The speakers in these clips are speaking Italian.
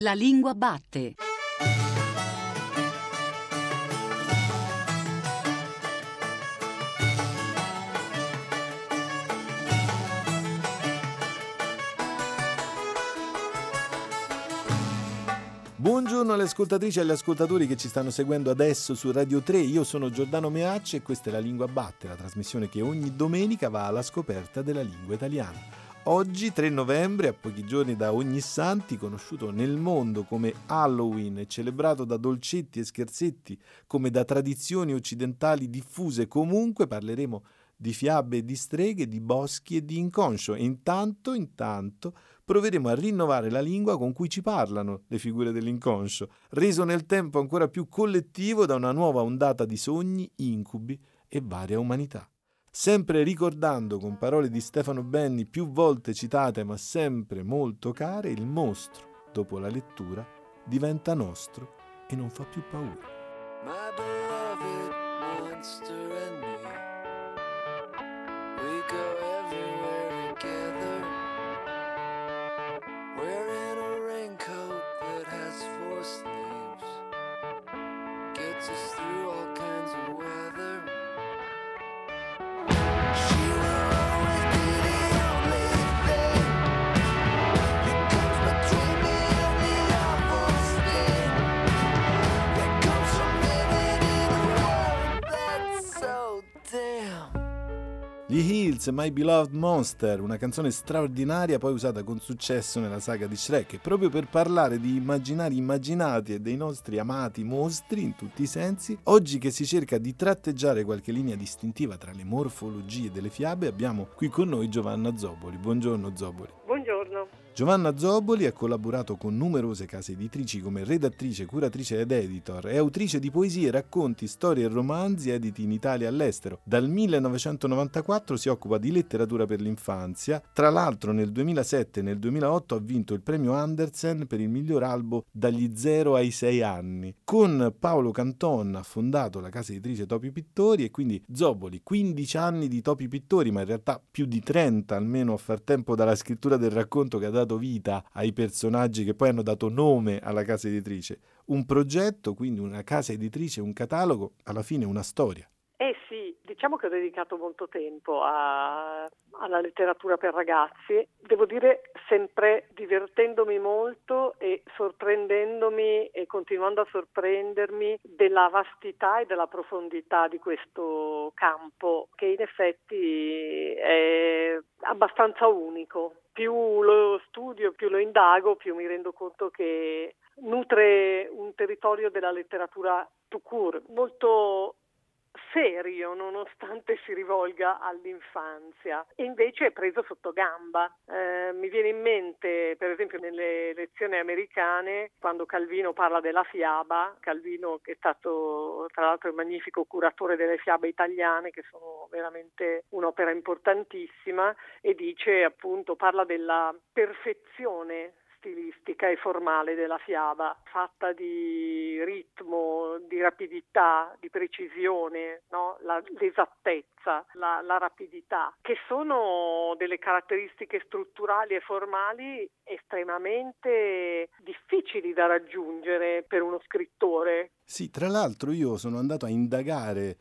La lingua batte. Buongiorno alle ascoltatrici e agli ascoltatori che ci stanno seguendo adesso su Radio 3. Io sono Giordano Meacci e questa è La Lingua Batte, la trasmissione che ogni domenica va alla scoperta della lingua italiana. Oggi, 3 novembre, a pochi giorni da Ognissanti, conosciuto nel mondo come Halloween e celebrato da dolcetti e scherzetti come da tradizioni occidentali diffuse, comunque parleremo di fiabe e di streghe, di boschi e di inconscio. E intanto proveremo a rinnovare la lingua con cui ci parlano le figure dell'inconscio, reso nel tempo ancora più collettivo da una nuova ondata di sogni, incubi e varia umanità. Sempre ricordando con parole di Stefano Benni più volte citate ma sempre molto care, il mostro, dopo la lettura, diventa nostro e non fa più paura. My beloved monster and me, we go everywhere together, wearing a raincoat that has 4 sleeves, gets us through all kinds of weather. She will always be the only thing that comes between me and the awful sting that comes from living in a world that's so damn. Gli Hills, My Beloved Monster, una canzone straordinaria poi usata con successo nella saga di Shrek, e proprio per parlare di immaginari immaginati e dei nostri amati mostri in tutti i sensi, oggi che si cerca di tratteggiare qualche linea distintiva tra le morfologie delle fiabe, abbiamo qui con noi Giovanna Zoboli. Buongiorno Zoboli. Buongiorno. Giovanna Zoboli ha collaborato con numerose case editrici come redattrice, curatrice ed editor. È autrice di poesie, racconti, storie e romanzi editi in Italia e all'estero. Dal 1994 si occupa di letteratura per l'infanzia. Tra l'altro nel 2007 e nel 2008 ha vinto il premio Andersen per il miglior albo dagli 0 ai 6 anni. Con Paolo Canton ha fondato la casa editrice Topi Pittori e quindi Zoboli, 15 anni di Topi Pittori, ma in realtà più di 30 almeno a far tempo dalla scrittura del racconto che ha dato vita ai personaggi che poi hanno dato nome alla casa editrice. Un progetto, quindi una casa editrice, un catalogo, alla fine una storia. Sì, diciamo che ho dedicato molto tempo alla letteratura per ragazzi, devo dire sempre divertendomi molto e sorprendendomi e continuando a sorprendermi della vastità e della profondità di questo campo, che in effetti è abbastanza unico. Più lo studio, più lo indago, più mi rendo conto che nutre un territorio della letteratura tout court, molto serio nonostante si rivolga all'infanzia, e invece è preso sotto gamba. Mi viene in mente per esempio nelle lezioni americane quando Calvino parla della fiaba, Calvino che è stato tra l'altro il magnifico curatore delle fiabe italiane, che sono veramente un'opera importantissima, e dice appunto, parla della perfezione stilistica e formale della fiaba, fatta di ritmo, di rapidità, di precisione, no? L'esattezza, la rapidità, che sono delle caratteristiche strutturali e formali estremamente difficili da raggiungere per uno scrittore. Sì, tra l'altro io sono andato a indagare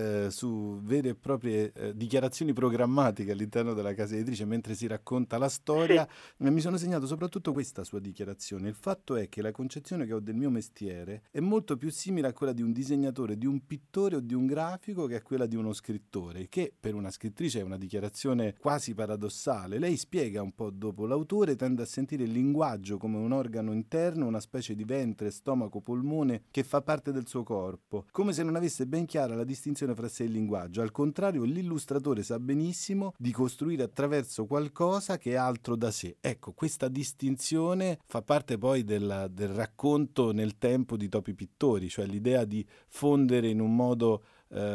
su vere e proprie dichiarazioni programmatiche all'interno della casa editrice mentre si racconta la storia, e mi sono segnato soprattutto questa sua dichiarazione. Il fatto è che la concezione che ho del mio mestiere è molto più simile a quella di un disegnatore, di un pittore o di un grafico che a quella di uno scrittore, che per una scrittrice è una dichiarazione quasi paradossale. Lei spiega un po' dopo: l'autore tende a sentire il linguaggio come un organo interno, una specie di ventre, stomaco, polmone che fa parte del suo corpo, come se non avesse ben chiara la distinzione fra sé e il linguaggio. Al contrario, l'illustratore sa benissimo di costruire attraverso qualcosa che è altro da sé. Ecco, questa distinzione fa parte poi del racconto nel tempo di Topi Pittori, cioè l'idea di fondere in un modo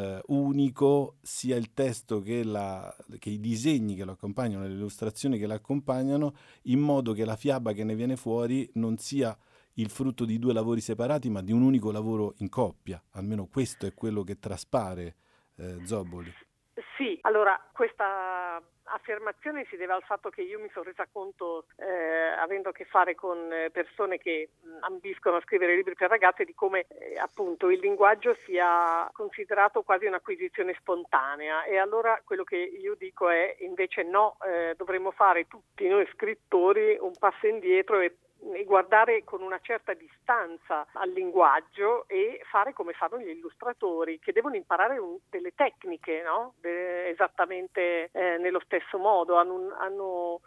unico sia il testo che i disegni che lo accompagnano, le illustrazioni che l'accompagnano, in modo che la fiaba che ne viene fuori non sia il frutto di 2 lavori separati, ma di un unico lavoro in coppia. Almeno questo è quello che traspare, Zoboli. Sì, Allora, questa affermazione si deve al fatto che io mi sono resa conto, avendo a che fare con persone che ambiscono a scrivere libri per ragazze, di come appunto il linguaggio sia considerato quasi un'acquisizione spontanea, e allora quello che io dico è invece no, dovremmo fare tutti noi scrittori un passo indietro e guardare con una certa distanza al linguaggio e fare come fanno gli illustratori, che devono imparare delle tecniche, no? Esattamente nello stesso modo, hanno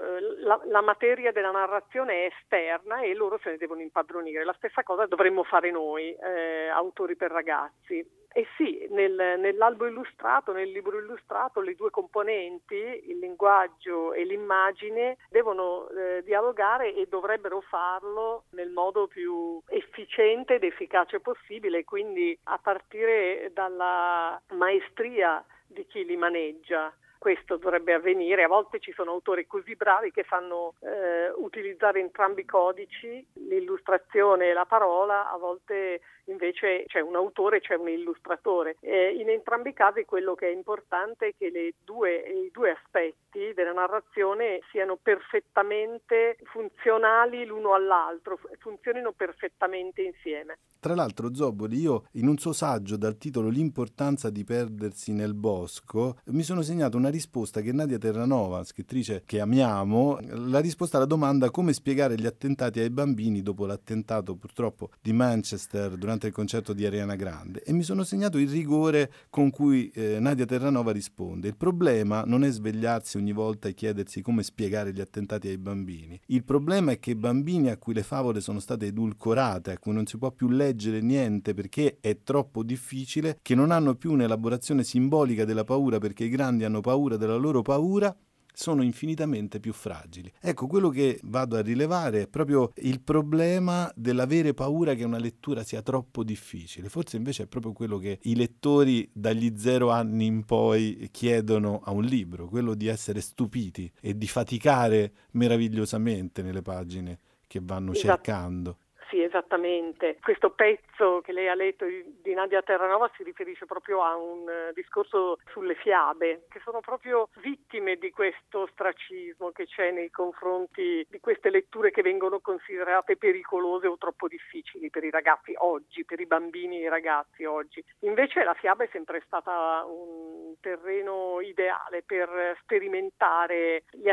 la materia della narrazione è esterna e loro se ne devono impadronire. La stessa cosa dovremmo fare noi, autori per ragazzi. E sì, nell'albo illustrato, nel libro illustrato, le due componenti, il linguaggio e l'immagine, devono dialogare e dovrebbero farlo nel modo più efficiente ed efficace possibile, quindi a partire dalla maestria di chi li maneggia. Questo dovrebbe avvenire. A volte ci sono autori così bravi che sanno utilizzare entrambi i codici, l'illustrazione e la parola, a volte invece c'è un autore e c'è un illustratore. In entrambi i casi quello che è importante è che i due aspetti della narrazione siano perfettamente funzionali l'uno all'altro, funzionino perfettamente insieme. Tra l'altro, Zoboli, io in un suo saggio dal titolo L'importanza di perdersi nel bosco mi sono segnato una risposta che Nadia Terranova, scrittrice che amiamo, la risposta alla domanda come spiegare gli attentati ai bambini dopo l'attentato purtroppo di Manchester durante il concerto di Ariana Grande, e mi sono segnato il rigore con cui Nadia Terranova risponde: il problema non è svegliarsi ogni volta e chiedersi come spiegare gli attentati ai bambini, il problema è che i bambini a cui le favole sono state edulcorate, a cui non si può più leggere niente perché è troppo difficile, che non hanno più un'elaborazione simbolica della paura perché i grandi hanno paura della loro paura, sono infinitamente più fragili. Ecco, quello che vado a rilevare è proprio il problema dell'avere paura che una lettura sia troppo difficile. Forse invece è proprio quello che i lettori dagli 0 anni in poi chiedono a un libro, quello di essere stupiti e di faticare meravigliosamente nelle pagine che vanno cercando. Sì, esattamente. Questo pezzo che lei ha letto di Nadia Terranova si riferisce proprio a un discorso sulle fiabe, che sono proprio vittime di questo ostracismo che c'è nei confronti di queste letture che vengono considerate pericolose o troppo difficili per i ragazzi oggi, per i bambini e i ragazzi oggi. Invece la fiaba è sempre stata un terreno ideale per sperimentare gli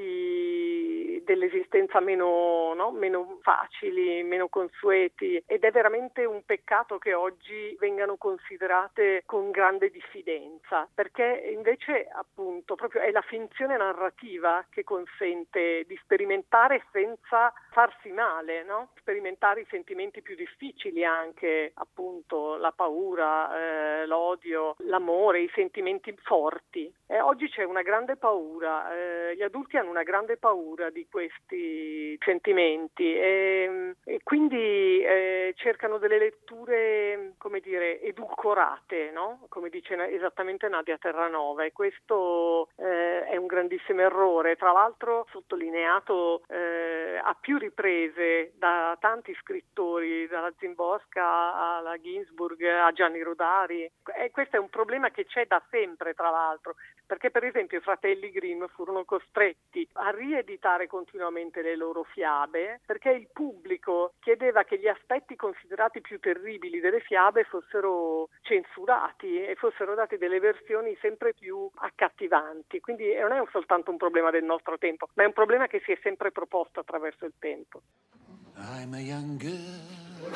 aspetti dell'esistenza meno facili, meno consueti, ed è veramente un peccato che oggi vengano considerate con grande diffidenza, perché invece appunto proprio è la finzione narrativa che consente di sperimentare senza farsi male, no? Sperimentare i sentimenti più difficili, anche appunto la paura, l'odio, l'amore, i sentimenti forti. Oggi c'è una grande paura, gli adulti hanno una grande paura di questi sentimenti e quindi cercano delle letture, come dire, edulcorate, no? Come dice esattamente Nadia Terranova, e questo è un grandissimo errore, tra l'altro sottolineato a più riprese da tanti scrittori, dalla Szymborska alla Ginsburg a Gianni Rodari, e questo è un problema che c'è da sempre, tra l'altro, perché per esempio i fratelli Grimm furono costretti a rieditare continuamente le loro fiabe perché il pubblico chiedeva che gli aspetti considerati più terribili delle fiabe fossero censurati e fossero date delle versioni sempre più accattivanti. Quindi non è soltanto un problema del nostro tempo, ma è un problema che si è sempre proposto attraverso il tempo. I'm a young girl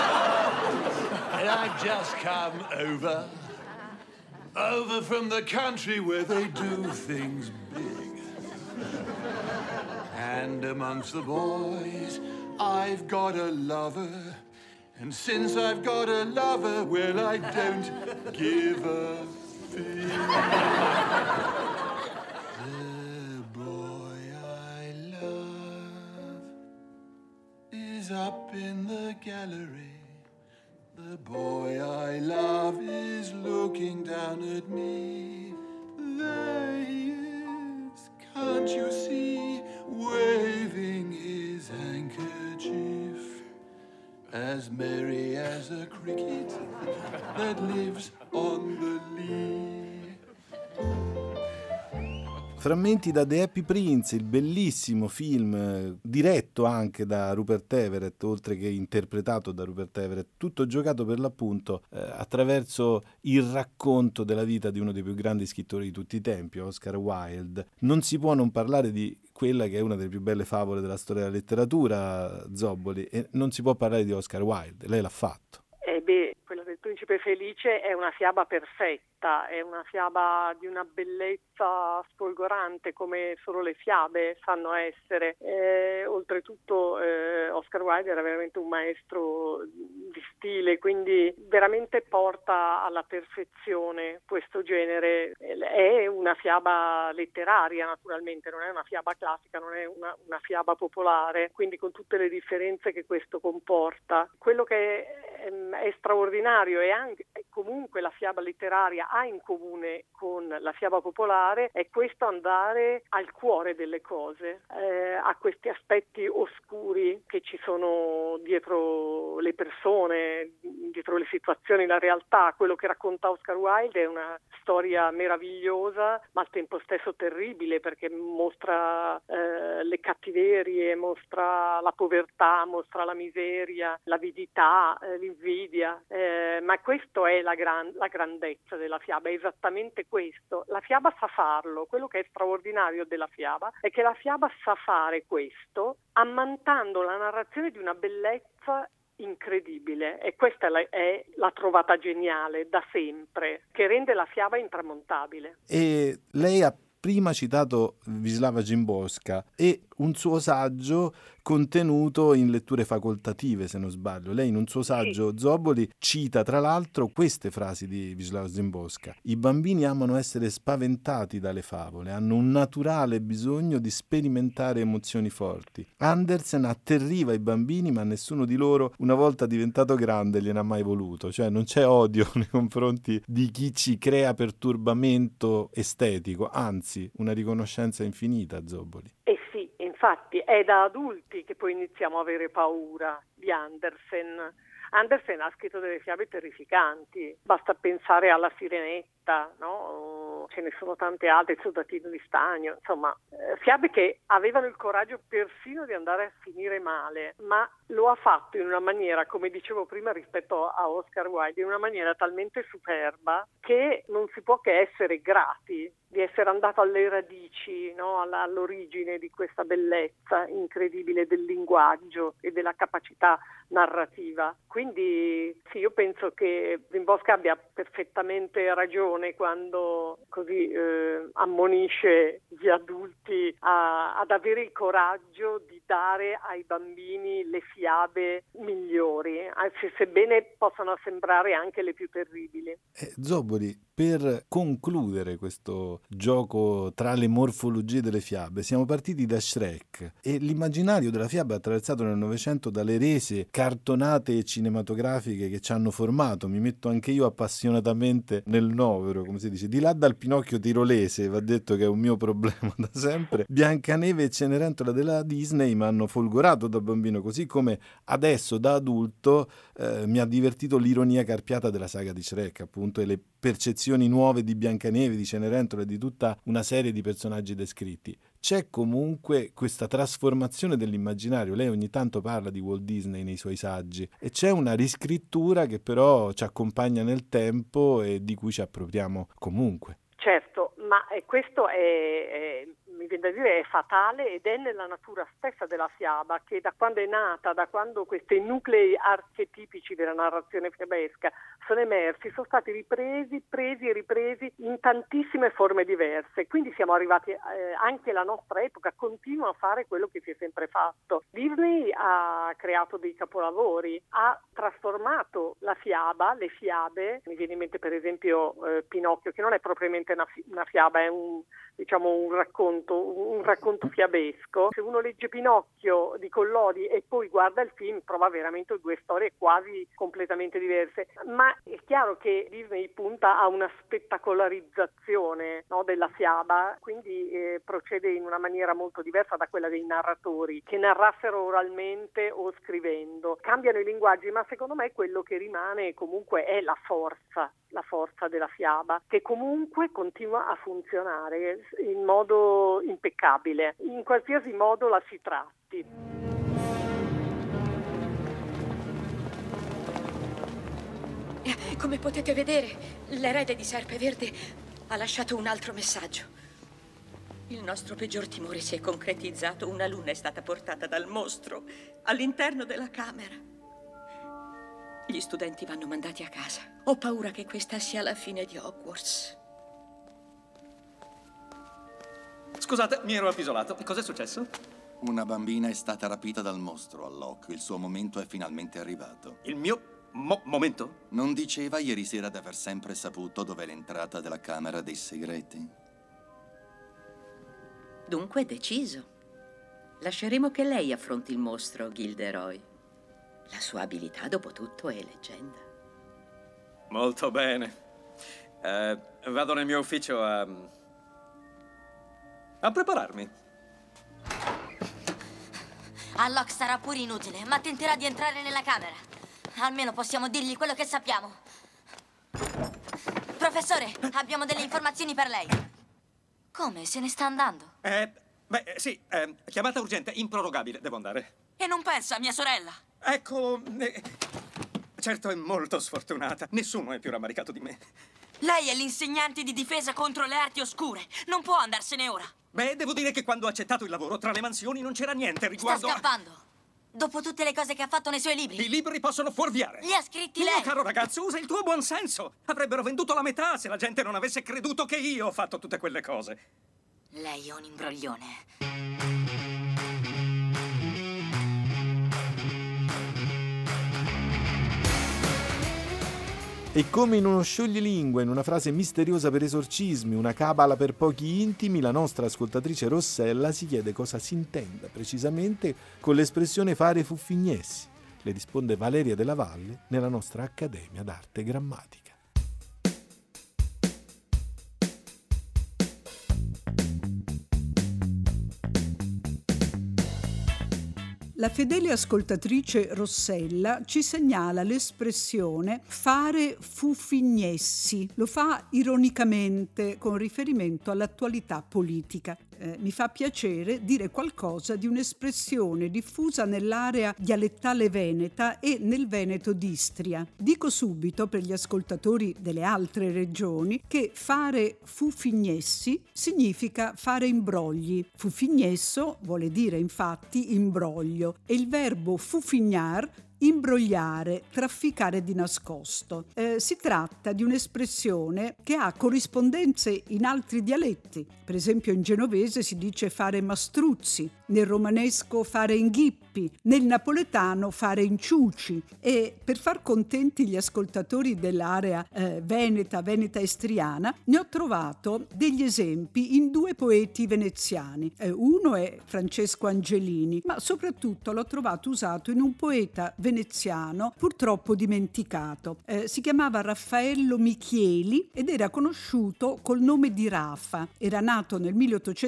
and I've just come over from the country where they do things big. And amongst the boys I've got a lover, and since I've got a lover, well, I don't give a fig. The boy I love is up in the gallery. The boy I love is looking down at me. There he is, can't you see, waving his handkerchief, as merry as a cricket that lives on the lea. Frammenti da The Happy Prince, il bellissimo film diretto anche da Rupert Everett, oltre che interpretato da Rupert Everett, tutto giocato per l'appunto attraverso il racconto della vita di uno dei più grandi scrittori di tutti i tempi, Oscar Wilde. Non si può non parlare di quella che è una delle più belle favole della storia della letteratura, Zobboli, e non si può parlare di Oscar Wilde, lei l'ha fatto. Quella del Principe Felice è una fiaba perfetta, è una fiaba di una bellezza sfolgorante come solo le fiabe sanno essere. Oltretutto Oscar Wilde era veramente un maestro di stile, quindi veramente porta alla perfezione questo genere. È una fiaba letteraria, naturalmente, non è una fiaba classica, non è una fiaba popolare, quindi con tutte le differenze che questo comporta. Quello che è straordinario e anche comunque la fiaba letteraria ha in comune con la fiaba popolare è questo andare al cuore delle cose, a questi aspetti oscuri che ci sono dietro le persone, dietro le situazioni, la realtà. Quello che racconta Oscar Wilde è una storia meravigliosa ma al tempo stesso terribile, perché mostra le cattiverie, mostra la povertà, mostra la miseria, l'avidità, l'invidia, ma questo è la grandezza della fiaba, è esattamente questo. La fiaba sa farlo, quello che è straordinario della fiaba è che la fiaba sa fare questo ammantando la narrazione di una bellezza incredibile, e questa è la trovata geniale da sempre, che rende la fiaba intramontabile. E lei ha prima citato Wisława Szymborska e un suo saggio contenuto in letture facoltative, se non sbaglio. Lei in un suo saggio, Zobboli, cita tra l'altro queste frasi di Wisława Szymborska: i bambini amano essere spaventati dalle favole, hanno un naturale bisogno di sperimentare emozioni forti. Andersen atterriva i bambini, ma nessuno di loro, una volta diventato grande, gliene ha mai voluto. Cioè non c'è odio nei confronti di chi ci crea perturbamento estetico, anzi una riconoscenza infinita, Zobboli. Sì, infatti è da adulti che poi iniziamo a avere paura di Andersen. Andersen ha scritto delle fiabe terrificanti, basta pensare alla Sirenetta, no? Ce ne sono tante altre, il Soldatino di Stagno, insomma, fiabe che avevano il coraggio persino di andare a finire male, ma lo ha fatto in una maniera, come dicevo prima rispetto a Oscar Wilde, in una maniera talmente superba che non si può che essere grati di essere andato alle radici, no? All'origine di questa bellezza incredibile del linguaggio e della capacità narrativa. Quindi sì, io penso che Szymborska abbia perfettamente ragione quando così ammonisce gli adulti ad avere il coraggio di dare ai bambini le fiabe migliori, anzi, sebbene possano sembrare anche le più terribili. Zobboli, per concludere questo gioco tra le morfologie delle fiabe, siamo partiti da Shrek e l'immaginario della fiaba è attraversato nel Novecento dalle rese cartonate cinematografiche che ci hanno formato. Mi metto anche io appassionatamente nel novero, come si dice, di là dal Pinocchio tirolese, va detto che è un mio problema da sempre. Biancaneve e Cenerentola della Disney mi hanno folgorato da bambino, così come adesso da adulto mi ha divertito l'ironia carpiata della saga di Shrek, appunto, e le percezioni nuove di Biancaneve, di Cenerentola e di tutta una serie di personaggi descritti. C'è comunque questa trasformazione dell'immaginario. Lei ogni tanto parla di Walt Disney nei suoi saggi e c'è una riscrittura che però ci accompagna nel tempo e di cui ci appropriamo comunque. Certo, ma questo mi viene da dire, è fatale ed è nella natura stessa della fiaba, che da quando è nata, da quando questi nuclei archetipici della narrazione fiabesca sono emersi, sono stati presi e ripresi in tantissime forme diverse. Quindi siamo arrivati, anche la nostra epoca continua a fare quello che si è sempre fatto. Disney ha creato dei capolavori, ha trasformato la fiaba, le fiabe, mi viene in mente per esempio Pinocchio, che non è propriamente una fiaba, è un racconto un racconto fiabesco. Se uno legge Pinocchio di Collodi e poi guarda il film, trova veramente due storie quasi completamente diverse. Ma è chiaro che Disney punta a una spettacolarizzazione, no, della fiaba, quindi procede in una maniera molto diversa da quella dei narratori che narrassero oralmente o scrivendo. Cambiano i linguaggi, ma secondo me quello che rimane comunque è la forza della fiaba, che comunque continua a funzionare in modo impeccabile, in qualsiasi modo la si tratti. Come potete vedere, l'erede di Serpeverde ha lasciato un altro messaggio. Il nostro peggior timore si è concretizzato. Una luna è stata portata dal mostro all'interno della camera. Gli studenti vanno mandati a casa. Ho paura che questa sia la fine di Hogwarts. Scusate, mi ero appisolato. Cos'è successo? Una bambina è stata rapita dal mostro all'Oc. Il suo momento è finalmente arrivato. Il mio momento? Non diceva ieri sera di aver sempre saputo dov'è l'entrata della Camera dei Segreti? Dunque è deciso. Lasceremo che lei affronti il mostro, Gilderoy. La sua abilità, dopo tutto, è leggenda. Molto bene. Vado nel mio ufficio a prepararmi. Alloc sarà pure inutile, ma tenterà di entrare nella camera. Almeno possiamo dirgli quello che sappiamo. Professore, abbiamo delle informazioni per lei. Come? Se ne sta andando? Sì, chiamata urgente, improrogabile, devo andare. E non pensa a mia sorella? Ecco, certo è molto sfortunata. Nessuno è più rammaricato di me. Lei è l'insegnante di difesa contro le arti oscure. Non può andarsene ora. Beh, devo dire che quando ho accettato il lavoro, tra le mansioni non c'era niente riguardo Sta scappando. Dopo tutte le cose che ha fatto nei suoi libri. I libri possono fuorviare. Li ha scritti Tu, lei. caro ragazzo, usa il tuo buon senso. Avrebbero venduto la metà se la gente non avesse creduto che io ho fatto tutte quelle cose. Lei è un imbroglione. E come in uno scioglilingua, in una frase misteriosa per esorcismi, una cabala per pochi intimi, la nostra ascoltatrice Rossella si chiede cosa si intenda precisamente con l'espressione fare fuffignessi. Le risponde Valeria Della Valle nella nostra Accademia d'Arte Grammatica. La fedele ascoltatrice Rossella ci segnala l'espressione fare fuffignessi. Lo fa ironicamente con riferimento all'attualità politica. Mi fa piacere dire qualcosa di un'espressione diffusa nell'area dialettale veneta e nel Veneto d'Istria. Dico subito per gli ascoltatori delle altre regioni che fare fuffignessi significa fare imbrogli. Fuffignesso vuole dire infatti imbroglio e il verbo fuffignar imbrogliare, trafficare di nascosto. Si tratta di un'espressione che ha corrispondenze in altri dialetti. Per esempio in genovese si dice fare mastruzzi, nel romanesco fare inghippi, nel napoletano fare inciuci. E per far contenti gli ascoltatori dell'area veneta estriana, ne ho trovato degli esempi in due poeti veneziani. Uno è Francesco Angelini, ma soprattutto l'ho trovato usato in un poeta veneziano purtroppo dimenticato. Si chiamava Raffaello Michieli ed era conosciuto col nome di Rafa. Era nato nel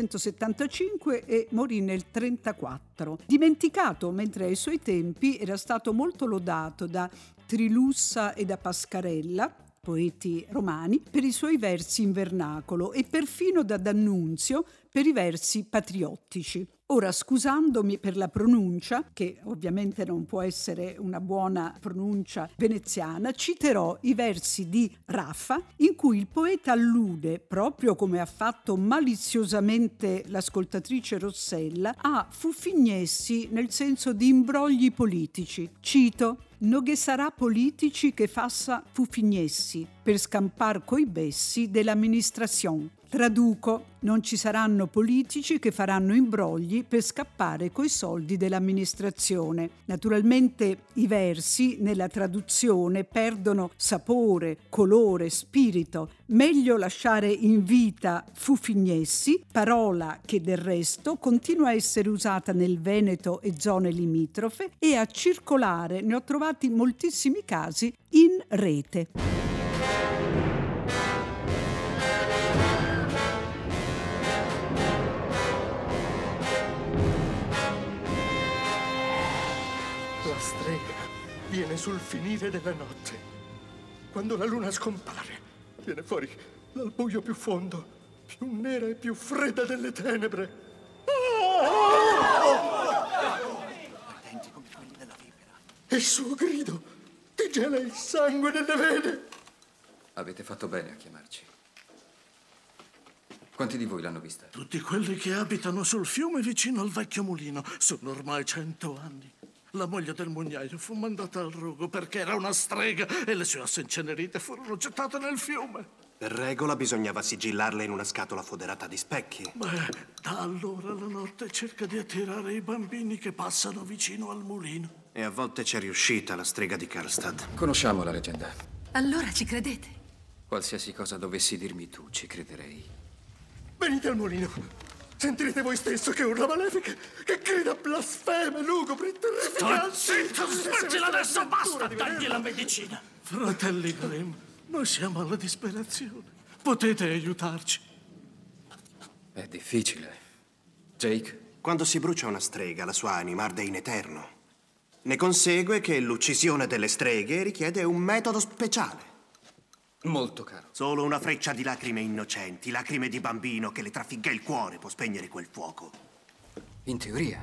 1875 e morì nel 1934. Dimenticato mentre ai suoi tempi era stato molto lodato da Trilussa e da Pascarella, poeti romani, per i suoi versi in vernacolo e perfino da D'Annunzio per i versi patriottici. Ora, scusandomi per la pronuncia, che ovviamente non può essere una buona pronuncia veneziana, citerò i versi di Raffa in cui il poeta allude, proprio come ha fatto maliziosamente l'ascoltatrice Rossella, a fuffignessi nel senso di imbrogli politici. Cito: «No che sarà politici che fassa fuffignessi per scampar coi bessi dell'amministrazione». Traduco, non ci saranno politici che faranno imbrogli per scappare coi soldi dell'amministrazione. Naturalmente i versi nella traduzione perdono sapore, colore, spirito. Meglio lasciare in vita Fufignessi, parola che del resto continua a essere usata nel Veneto e zone limitrofe e a circolare, ne ho trovati moltissimi casi, in rete. La strega viene sul finire della notte. Quando la luna scompare, viene fuori dal buio più fondo, più nera e più fredda delle tenebre. Ardenti come quelli della vipera. E il suo grido ti gela il sangue nelle vene. Avete fatto bene a chiamarci. Quanti di voi l'hanno vista? Tutti quelli che abitano sul fiume vicino al vecchio mulino. Sono ormai 100 anni. La moglie del mugnaio fu mandata al rogo perché era una strega e le sue ossa incenerite furono gettate nel fiume. Per regola bisognava sigillarle in una scatola foderata di specchi. Beh, da allora la notte cerca di attirare i bambini che passano vicino al mulino. E a volte c'è riuscita la strega di Karlstad. Conosciamo la leggenda. Allora ci credete? Qualsiasi cosa dovessi dirmi tu, ci crederei. Venite al mulino. Sentirete voi stesso che urla malefiche, che grida blasfeme, lugubri, terrificanti. Zitto, smettila adesso, basta, dagli la medicina. Fratelli Grimm, noi siamo alla disperazione. Potete aiutarci. È difficile. Jake? Quando si brucia una strega, la sua anima arde in eterno. Ne consegue che l'uccisione delle streghe richiede un metodo speciale. Molto caro. Solo una freccia di lacrime innocenti, lacrime di bambino che le trafigga il cuore può spegnere quel fuoco. In teoria.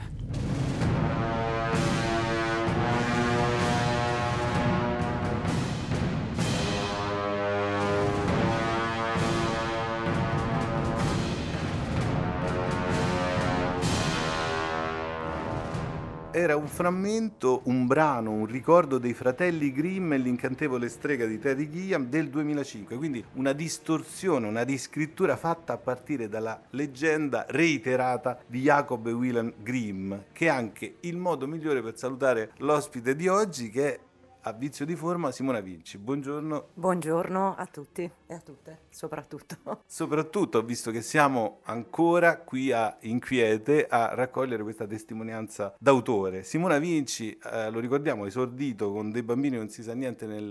Era un frammento, un brano, un ricordo dei fratelli Grimm e l'incantevole strega di Terry Gilliam del 2005, quindi una distorsione, una riscrittura fatta a partire dalla leggenda reiterata di Jacob e Wilhelm Grimm, che è anche il modo migliore per salutare l'ospite di oggi, che è, a vizio di forma, Simona Vinci. Buongiorno. Buongiorno a tutti e a tutte, soprattutto. Soprattutto, visto che siamo ancora qui a Inquiete a raccogliere questa testimonianza d'autore. Simona Vinci, lo ricordiamo, esordito con Dei bambini non si sa niente nel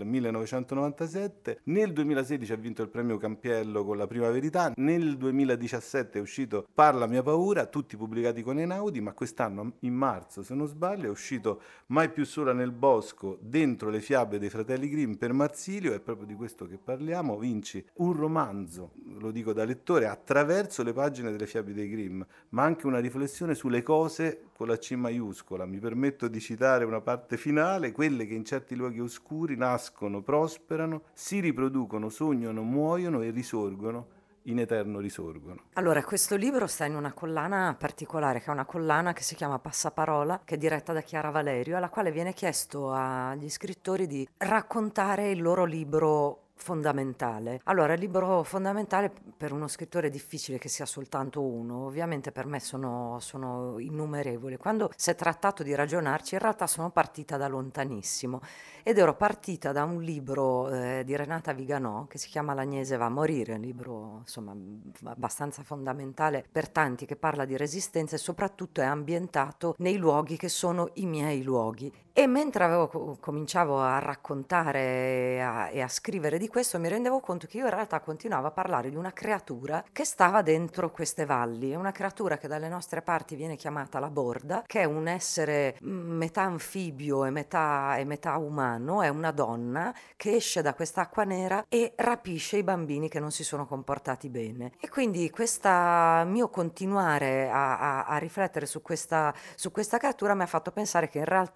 1997, nel 2016 ha vinto il premio Campiello con La prima verità, nel 2017 è uscito Parla mia paura, tutti pubblicati con Einaudi, ma quest'anno, in marzo se non sbaglio, è uscito Mai più sola nel bosco, dentro le fiabe dei fratelli Grimm per Marsilio. È proprio di questo che parliamo. Vinci un romanzo, lo dico da lettore, attraverso le pagine delle fiabe dei Grimm, ma anche una riflessione sulle cose con la C maiuscola. Mi permetto di citare una parte finale: quelle che in certi luoghi oscuri nascono, prosperano, si riproducono, sognano, muoiono e risorgono, in eterno risorgono. Allora, questo libro sta in una collana particolare, che è una collana che si chiama Passaparola, che è diretta da Chiara Valerio, alla quale viene chiesto agli scrittori di raccontare il loro libro fondamentale. Allora, il libro fondamentale per uno scrittore è difficile che sia soltanto uno, ovviamente per me sono innumerevoli. Quando si è trattato di ragionarci, in realtà sono partita da lontanissimo ed ero partita da un libro di Renata Viganò che si chiama L'Agnese va a morire, un libro insomma abbastanza fondamentale per tanti, che parla di resistenza e soprattutto è ambientato nei luoghi che sono i miei luoghi. E mentre cominciavo a raccontare e a scrivere di questo, mi rendevo conto che io in realtà continuavo a parlare di una creatura che stava dentro queste valli. È una creatura che dalle nostre parti viene chiamata la Borda, che è un essere metà anfibio e metà umano, è una donna che esce da quest'acqua nera e rapisce i bambini che non si sono comportati bene. E quindi questo mio continuare a riflettere su questa creatura mi ha fatto pensare che in realtà io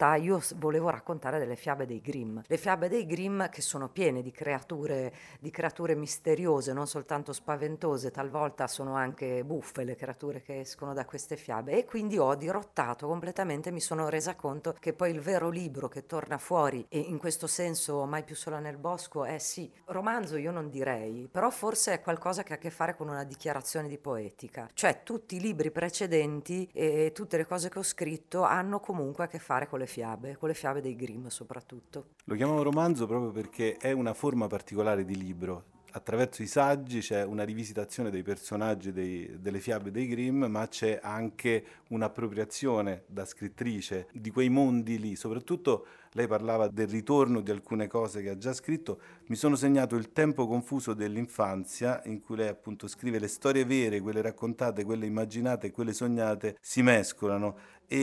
volevo raccontare delle fiabe dei Grimm. Le fiabe dei Grimm che sono piene di creature misteriose, non soltanto spaventose, talvolta sono anche buffe le creature che escono da queste fiabe, e quindi ho dirottato completamente, mi sono resa conto che poi il vero libro che torna fuori, e in questo senso Mai più sola nel bosco è sì, romanzo io non direi, però forse è qualcosa che ha a che fare con una dichiarazione di poetica, cioè tutti i libri precedenti e tutte le cose che ho scritto hanno comunque a che fare con le fiabe dei Grimm soprattutto. Lo chiamavo romanzo proprio perché è una forma particolare di libro. Attraverso i saggi c'è una rivisitazione dei personaggi delle fiabe dei Grimm, ma c'è anche un'appropriazione da scrittrice di quei mondi lì. Soprattutto lei parlava del ritorno di alcune cose che ha già scritto. Mi sono segnato Il tempo confuso dell'infanzia, in cui lei appunto scrive: le storie vere, quelle raccontate, quelle immaginate e quelle sognate si mescolano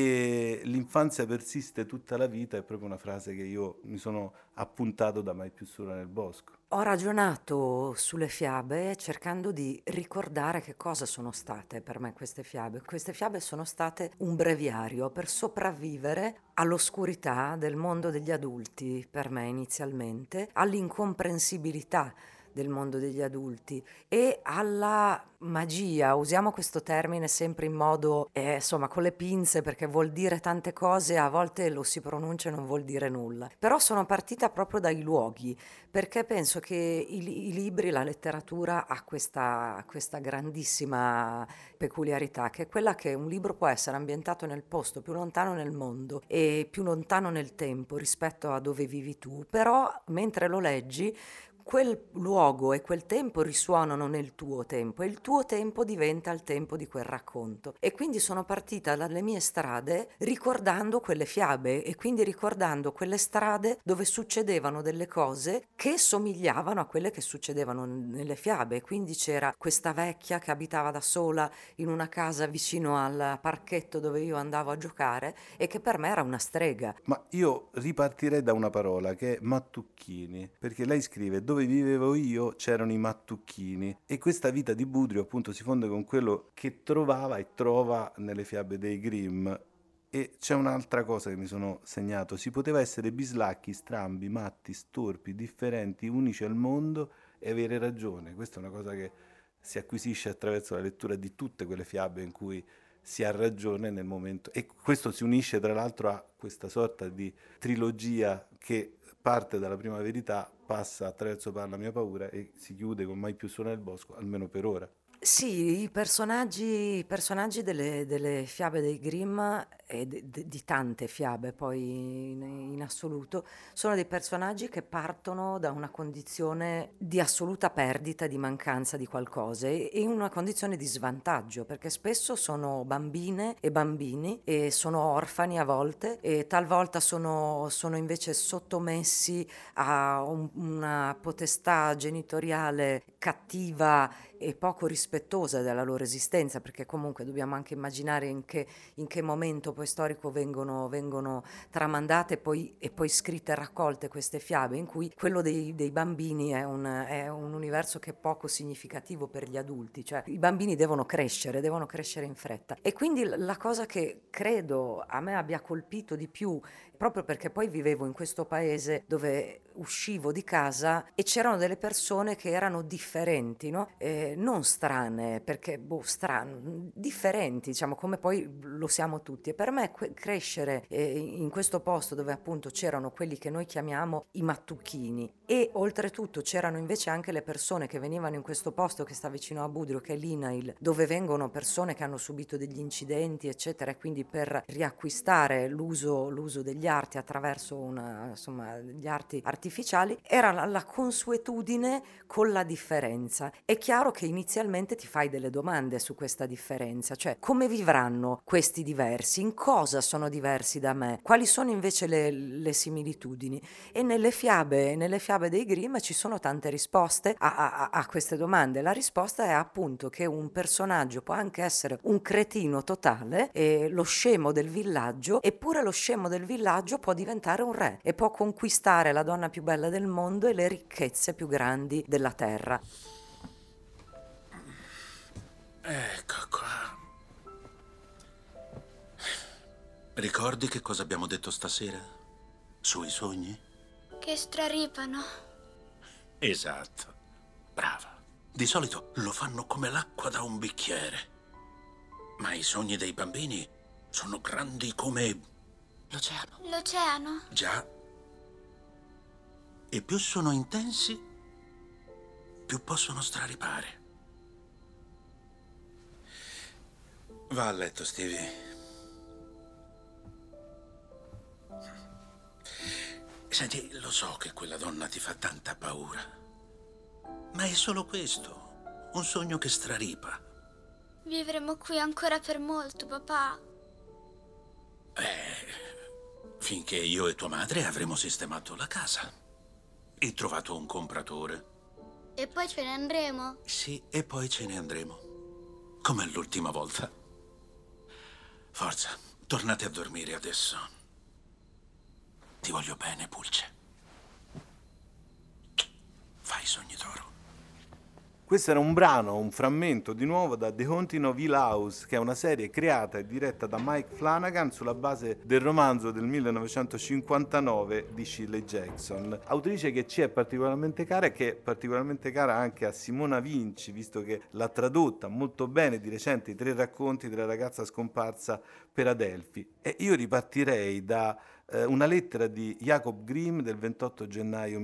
e l'infanzia persiste tutta la vita. È proprio una frase che io mi sono appuntato da Mai più sola nel bosco. Ho ragionato sulle fiabe cercando di ricordare che cosa sono state per me queste fiabe. Queste fiabe sono state un breviario per sopravvivere all'oscurità del mondo degli adulti, per me inizialmente, all'incomprensibilità del mondo degli adulti e alla magia, usiamo questo termine sempre in modo, insomma, con le pinze, perché vuol dire tante cose, a volte lo si pronuncia e non vuol dire nulla. Però sono partita proprio dai luoghi, perché penso che i libri, la letteratura ha questa grandissima peculiarità, che è quella che un libro può essere ambientato nel posto più lontano nel mondo e più lontano nel tempo rispetto a dove vivi tu, però mentre lo leggi quel luogo e quel tempo risuonano nel tuo tempo e il tuo tempo diventa il tempo di quel racconto. E quindi sono partita dalle mie strade ricordando quelle fiabe e quindi ricordando quelle strade dove succedevano delle cose che somigliavano a quelle che succedevano nelle fiabe. Quindi c'era questa vecchia che abitava da sola in una casa vicino al parchetto dove io andavo a giocare e che per me era una strega. Ma io ripartirei da una parola che è mattucchini, perché lei scrive: dove vivevo io c'erano i mattucchini, e questa vita di Budrio appunto si fonde con quello che trovava e trova nelle fiabe dei Grimm. E c'è un'altra cosa che mi sono segnato: si poteva essere bislacchi, strambi, matti, storpi, differenti, unici al mondo e avere ragione. Questa è una cosa che si acquisisce attraverso la lettura di tutte quelle fiabe in cui si ha ragione nel momento, e questo si unisce tra l'altro a questa sorta di trilogia che parte dalla prima verità, passa attraverso Parla mia paura e si chiude con Mai più sola nel bosco, almeno per ora. Sì, i personaggi delle fiabe dei Grimm e di tante fiabe poi in assoluto sono dei personaggi che partono da una condizione di assoluta perdita, di mancanza di qualcosa e una condizione di svantaggio, perché spesso sono bambine e bambini e sono orfani a volte e talvolta sono invece sottomessi a una potestà genitoriale cattiva e poco rispettosa della loro esistenza, perché comunque dobbiamo anche immaginare in che momento poi storico vengono tramandate e poi scritte e raccolte queste fiabe, in cui quello dei bambini è un universo che è poco significativo per gli adulti, cioè i bambini devono crescere in fretta. E quindi la cosa che credo a me abbia colpito di più, proprio perché poi vivevo in questo paese dove uscivo di casa e c'erano delle persone che erano differenti, no? Non strane, perché differenti, diciamo, come poi lo siamo tutti. E per me crescere in questo posto dove appunto c'erano quelli che noi chiamiamo i mattucchini e oltretutto c'erano invece anche le persone che venivano in questo posto che sta vicino a Budrio, che è l'Inail, dove vengono persone che hanno subito degli incidenti eccetera, e quindi per riacquistare l'uso degli arti attraverso gli arti artificiali, era la consuetudine con la differenza. È chiaro che inizialmente ti fai delle domande su questa differenza, cioè come vivranno questi diversi, in cosa sono diversi da me, quali sono invece le similitudini. E nelle fiabe dei Grimm ci sono tante risposte a queste domande. La risposta è appunto che un personaggio può anche essere un cretino totale, lo scemo del villaggio, eppure lo scemo del villaggio può diventare un re e può conquistare la donna più bella del mondo e le ricchezze più grandi della terra. Ecco qua. Ricordi che cosa abbiamo detto stasera? Sui sogni? Che straripano. Esatto. Brava. Di solito lo fanno come l'acqua da un bicchiere. Ma i sogni dei bambini sono grandi come l'oceano. L'oceano? Già. E più sono intensi, più possono straripare. Va a letto, Stevie. Senti, lo so che quella donna ti fa tanta paura, ma è solo questo, un sogno che straripa. Vivremo qui ancora per molto, papà. Finché io e tua madre avremo sistemato la casa e trovato un compratore. E poi ce ne andremo? Sì, e poi ce ne andremo. Come l'ultima volta. Forza, tornate a dormire adesso. Ti voglio bene, Pulce. Fai sogni d'oro. Questo era un brano, un frammento di nuovo da The Haunting of Hill House, che è una serie creata e diretta da Mike Flanagan sulla base del romanzo del 1959 di Shirley Jackson, autrice che ci è particolarmente cara e che è particolarmente cara anche a Simona Vinci, visto che l'ha tradotta molto bene di recente i 3 racconti della ragazza scomparsa per Adelphi. E io ripartirei da una lettera di Jacob Grimm del 28 gennaio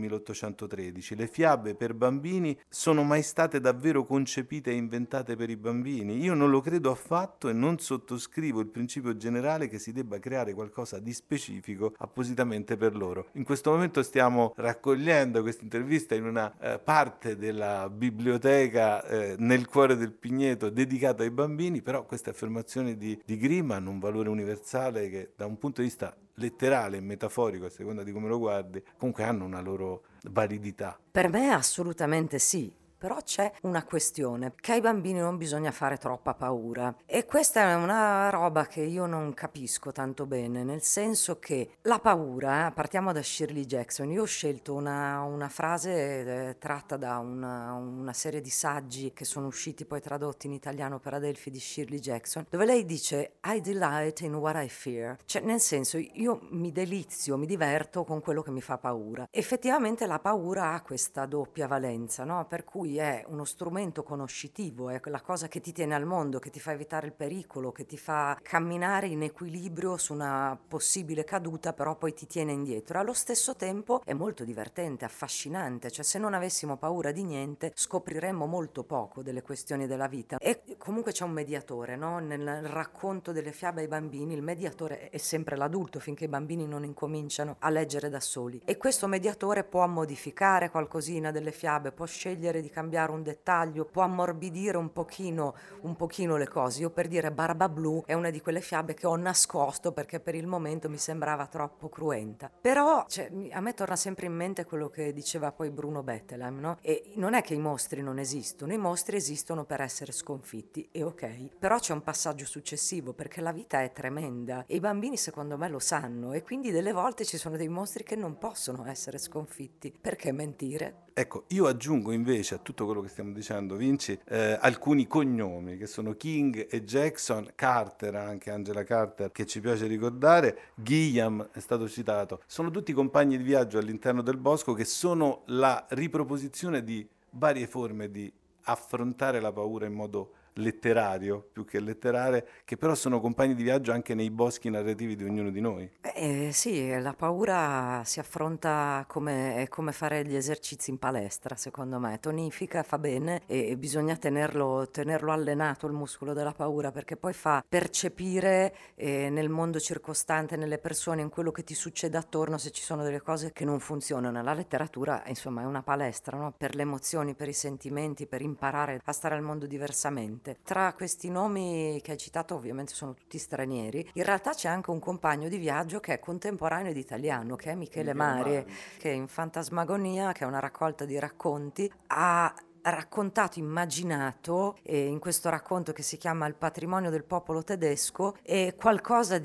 1813. Le fiabe per bambini sono mai state davvero concepite e inventate per i bambini? Io non lo credo affatto e non sottoscrivo il principio generale che si debba creare qualcosa di specifico appositamente per loro. In questo momento stiamo raccogliendo questa intervista in una parte della biblioteca nel cuore del Pigneto dedicata ai bambini, però queste affermazioni di Grimm hanno un valore universale che da un punto di vista letterale e metaforico, a seconda di come lo guardi, comunque hanno una loro validità. Per me assolutamente sì. Però c'è una questione, che ai bambini non bisogna fare troppa paura. E questa è una roba che io non capisco tanto bene, nel senso che la paura, partiamo da Shirley Jackson, io ho scelto una frase tratta da una serie di saggi che sono usciti poi tradotti in italiano per Adelphi di Shirley Jackson, dove lei dice I delight in what I fear, cioè nel senso io mi delizio, mi diverto con quello che mi fa paura. Effettivamente la paura ha questa doppia valenza, no? Per cui è uno strumento conoscitivo, è quella cosa che ti tiene al mondo, che ti fa evitare il pericolo, che ti fa camminare in equilibrio su una possibile caduta, però poi ti tiene indietro. Allo stesso tempo è molto divertente, affascinante, cioè se non avessimo paura di niente scopriremmo molto poco delle questioni della vita. E comunque c'è un mediatore, no? Nel racconto delle fiabe ai bambini il mediatore è sempre l'adulto finché i bambini non incominciano a leggere da soli, e questo mediatore può modificare qualcosina delle fiabe, può scegliere di cambiare un dettaglio, può ammorbidire un pochino le cose. Io, per dire, Barba Blu è una di quelle fiabe che ho nascosto perché per il momento mi sembrava troppo cruenta. Però a me torna sempre in mente quello che diceva poi Bruno Bettelheim, no? E non è che i mostri non esistono, i mostri esistono per essere sconfitti, e ok. Però c'è un passaggio successivo, perché la vita è tremenda e i bambini secondo me lo sanno, e quindi delle volte ci sono dei mostri che non possono essere sconfitti. Perché mentire? Ecco, io aggiungo invece a tutto quello che stiamo dicendo, Vinci, alcuni cognomi che sono King e Jackson, Carter, anche Angela Carter, che ci piace ricordare, Gilliam è stato citato, sono tutti compagni di viaggio all'interno del bosco che sono la riproposizione di varie forme di affrontare la paura in modo letterario più che letterale, che però sono compagni di viaggio anche nei boschi narrativi di ognuno di noi. Sì, la paura si affronta come fare gli esercizi in palestra, secondo me, tonifica, fa bene, e bisogna tenerlo allenato il muscolo della paura, perché poi fa percepire nel mondo circostante, nelle persone, in quello che ti succede attorno, se ci sono delle cose che non funzionano. La letteratura, insomma, è una palestra, no? Per le emozioni, per i sentimenti, per imparare a stare al mondo diversamente. Tra questi nomi che hai citato, ovviamente sono tutti stranieri, in realtà c'è anche un compagno di viaggio che è contemporaneo ed italiano, che è Michele Mari, che in Fantasmagonia, che è una raccolta di racconti, ha raccontato, immaginato, in questo racconto che si chiama Il patrimonio del popolo tedesco, qualcosa di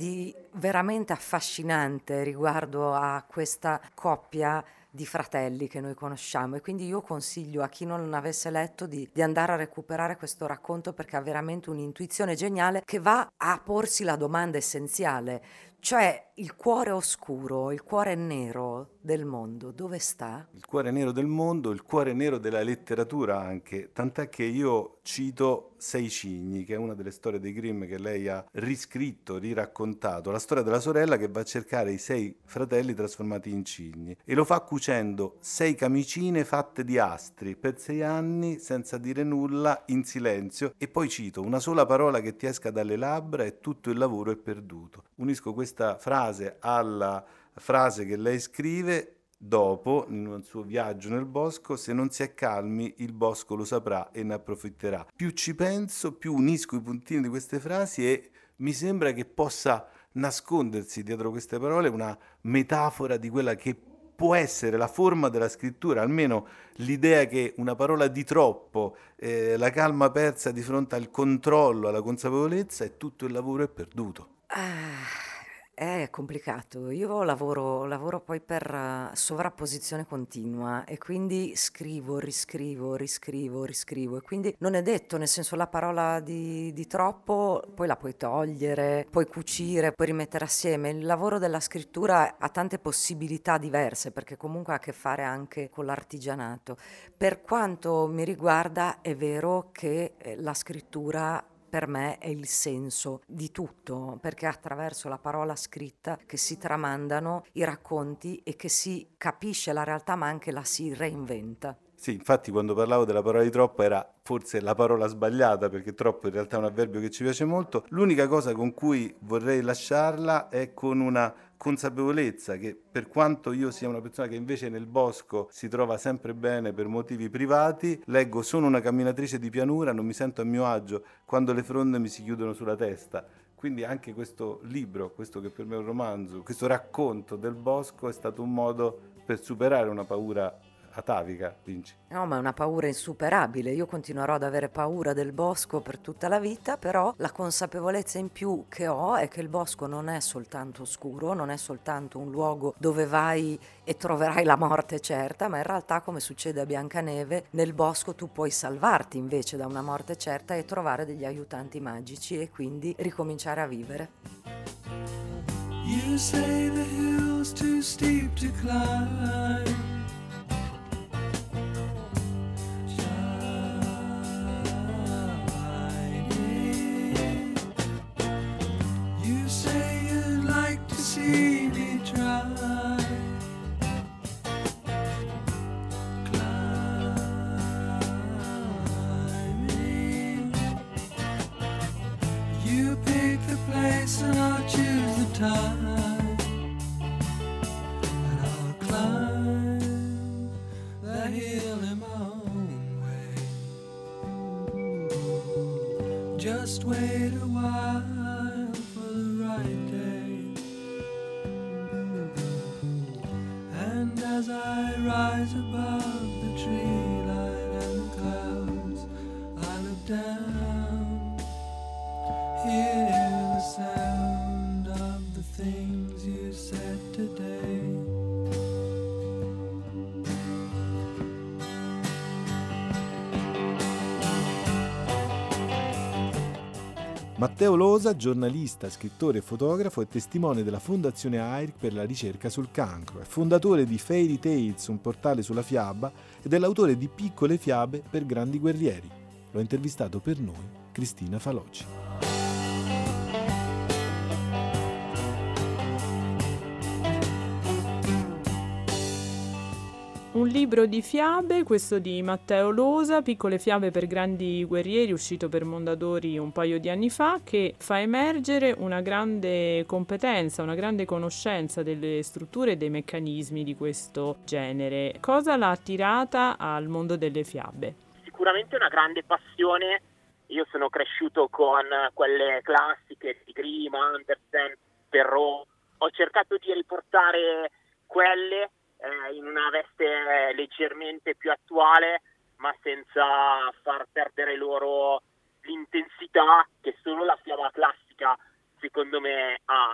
veramente affascinante riguardo a questa coppia di fratelli che noi conosciamo, e quindi io consiglio a chi non avesse letto di andare a recuperare questo racconto, perché ha veramente un'intuizione geniale che va a porsi la domanda essenziale, cioè il cuore oscuro, il cuore nero del mondo, dove sta? Il cuore nero del mondo, il cuore nero della letteratura anche, tant'è che io cito Sei cigni, che è una delle storie dei Grimm che lei ha riscritto, riraccontato, la storia della sorella che va a cercare i 6 fratelli trasformati in cigni, e lo fa cucendo 6 camicine fatte di astri per 6 anni senza dire nulla, in silenzio, e poi cito: una sola parola che ti esca dalle labbra e tutto il lavoro è perduto. Unisco questa frase alla frase che lei scrive dopo, in un suo viaggio nel bosco: se non si è calmi, il bosco lo saprà e ne approfitterà. Più ci penso, più unisco i puntini di queste frasi e mi sembra che possa nascondersi dietro queste parole una metafora di quella che può essere la forma della scrittura, almeno l'idea che una parola di troppo, la calma persa di fronte al controllo, alla consapevolezza, e tutto il lavoro è perduto. È complicato. Io lavoro poi per sovrapposizione continua, e quindi scrivo, riscrivo, e quindi non è detto, nel senso, la parola di troppo poi la puoi togliere, puoi cucire, puoi rimettere assieme. Il lavoro della scrittura ha tante possibilità diverse, perché comunque ha a che fare anche con l'artigianato. Per quanto mi riguarda, è vero che la scrittura per me è il senso di tutto, perché è attraverso la parola scritta che si tramandano i racconti e che si capisce la realtà, ma anche la si reinventa. Sì, infatti quando parlavo della parola di troppo era forse la parola sbagliata, perché troppo in realtà è un avverbio che ci piace molto. L'unica cosa con cui vorrei lasciarla è con una consapevolezza che, per quanto io sia una persona che invece nel bosco si trova sempre bene per motivi privati, leggo Sono una camminatrice di pianura, non mi sento a mio agio quando le fronde mi si chiudono sulla testa. Quindi anche questo libro, questo che per me è un romanzo, questo racconto del bosco è stato un modo per superare una paura atavica, Vinci. No, ma è una paura insuperabile. Io continuerò ad avere paura del bosco per tutta la vita, però la consapevolezza in più che ho è che il bosco non è soltanto oscuro, non è soltanto un luogo dove vai e troverai la morte certa, ma in realtà, come succede a Biancaneve, nel bosco tu puoi salvarti invece da una morte certa e trovare degli aiutanti magici e quindi ricominciare a vivere. You say the hill's too steep to climb. You say you'd like to see me try. Climbing. You pick the place and I'll choose the time. And I'll climb the hill in my own way. Just wait a while for the right day. And as I rise above the tree line and the clouds, I look down, hear the sound of the things you said today. Matteo Losa, giornalista, scrittore e fotografo, è testimone della Fondazione AIRC per la ricerca sul cancro, è fondatore di Fairy Tales, un portale sulla fiaba, ed è l'autore di Piccole fiabe per grandi guerrieri. L'ho intervistato per noi Cristina Faloci. Un libro di fiabe, questo di Matteo Losa, Piccole fiabe per grandi guerrieri, uscito per Mondadori un paio di anni fa, che fa emergere una grande competenza, una grande conoscenza delle strutture e dei meccanismi di questo genere. Cosa l'ha attirata al mondo delle fiabe? Sicuramente una grande passione. Io sono cresciuto con quelle classiche di Grimm, Andersen, Perrault. Ho cercato di riportare quelle in una veste leggermente più attuale, ma senza far perdere loro l'intensità che solo la fiaba classica secondo me ha.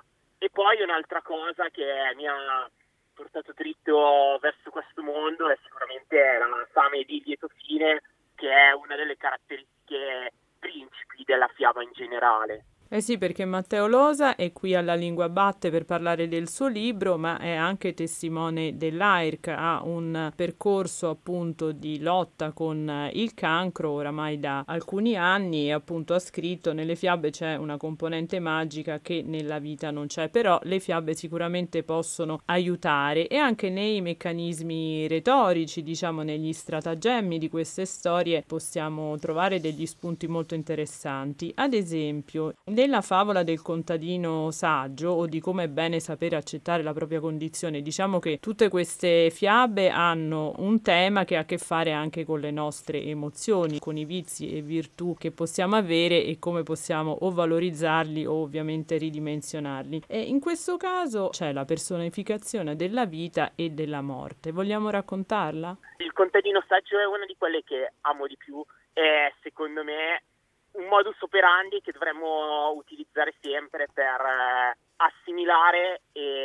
E poi un'altra cosa che mi ha portato dritto verso questo mondo è sicuramente la fame di lieto fine, che è una delle caratteristiche principi della fiaba in generale. Eh sì, perché Matteo Losa è qui alla Lingua Batte per parlare del suo libro, ma è anche testimone dell'AIRC, ha un percorso appunto di lotta con il cancro oramai da alcuni anni e appunto ha scritto: nelle fiabe c'è una componente magica che nella vita non c'è, però le fiabe sicuramente possono aiutare, e anche nei meccanismi retorici, diciamo negli stratagemmi di queste storie possiamo trovare degli spunti molto interessanti. Ad esempio, nella favola del contadino saggio, o di come è bene sapere accettare la propria condizione, diciamo che tutte queste fiabe hanno un tema che ha a che fare anche con le nostre emozioni, con i vizi e virtù che possiamo avere e come possiamo o valorizzarli o ovviamente ridimensionarli. E in questo caso c'è la personificazione della vita e della morte. Vogliamo raccontarla? Il contadino saggio è una di quelle che amo di più, e secondo me un modus operandi che dovremmo utilizzare sempre per assimilare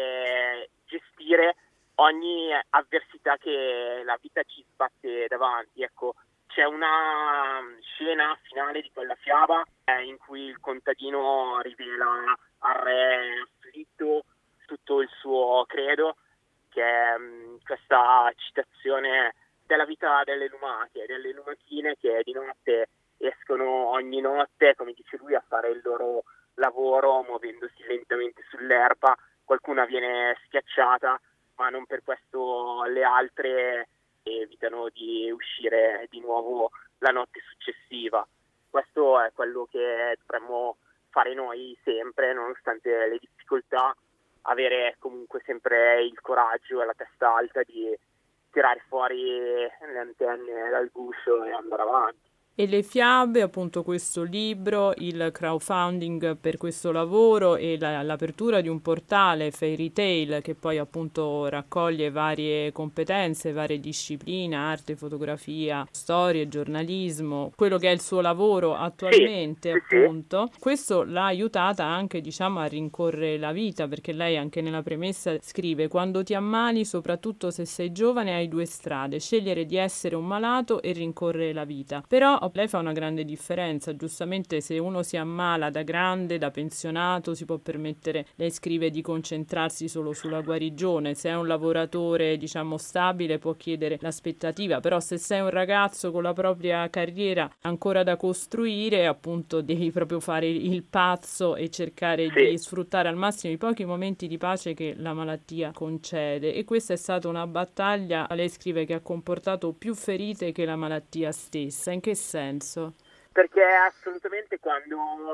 e gestire ogni avversità che la vita ci sbatte davanti. Ecco, c'è una scena finale di quella fiaba in cui il contadino rivela al re afflitto tutto il suo credo, che è questa citazione della vita delle lumache, delle lumachine che di notte escono ogni notte, come dice lui, a fare il loro lavoro muovendosi lentamente sull'erba. Qualcuna viene schiacciata, ma non per questo le altre evitano di uscire di nuovo la notte successiva. Questo è quello che dovremmo fare noi sempre, nonostante le difficoltà, avere comunque sempre il coraggio e la testa alta di tirare fuori le antenne dal guscio e andare avanti. E le fiabe, appunto questo libro, il crowdfunding per questo lavoro e l'apertura di un portale Fairy Tale che poi appunto raccoglie varie competenze, varie discipline, arte, fotografia, storie, giornalismo, quello che è il suo lavoro attualmente, appunto. Questo l'ha aiutata anche, diciamo, a rincorrere la vita, perché lei anche nella premessa scrive: quando ti ammali, soprattutto se sei giovane, hai due strade: scegliere di essere un malato e rincorrere la vita. Però lei fa una grande differenza, giustamente se uno si ammala da grande, da pensionato, si può permettere, lei scrive, di concentrarsi solo sulla guarigione. Se è un lavoratore, diciamo, stabile, può chiedere l'aspettativa, però se sei un ragazzo con la propria carriera ancora da costruire, appunto devi proprio fare il pazzo e cercare di sfruttare al massimo i pochi momenti di pace che la malattia concede. E questa è stata una battaglia, lei scrive, che ha comportato più ferite che la malattia stessa. In che senso? Perché assolutamente quando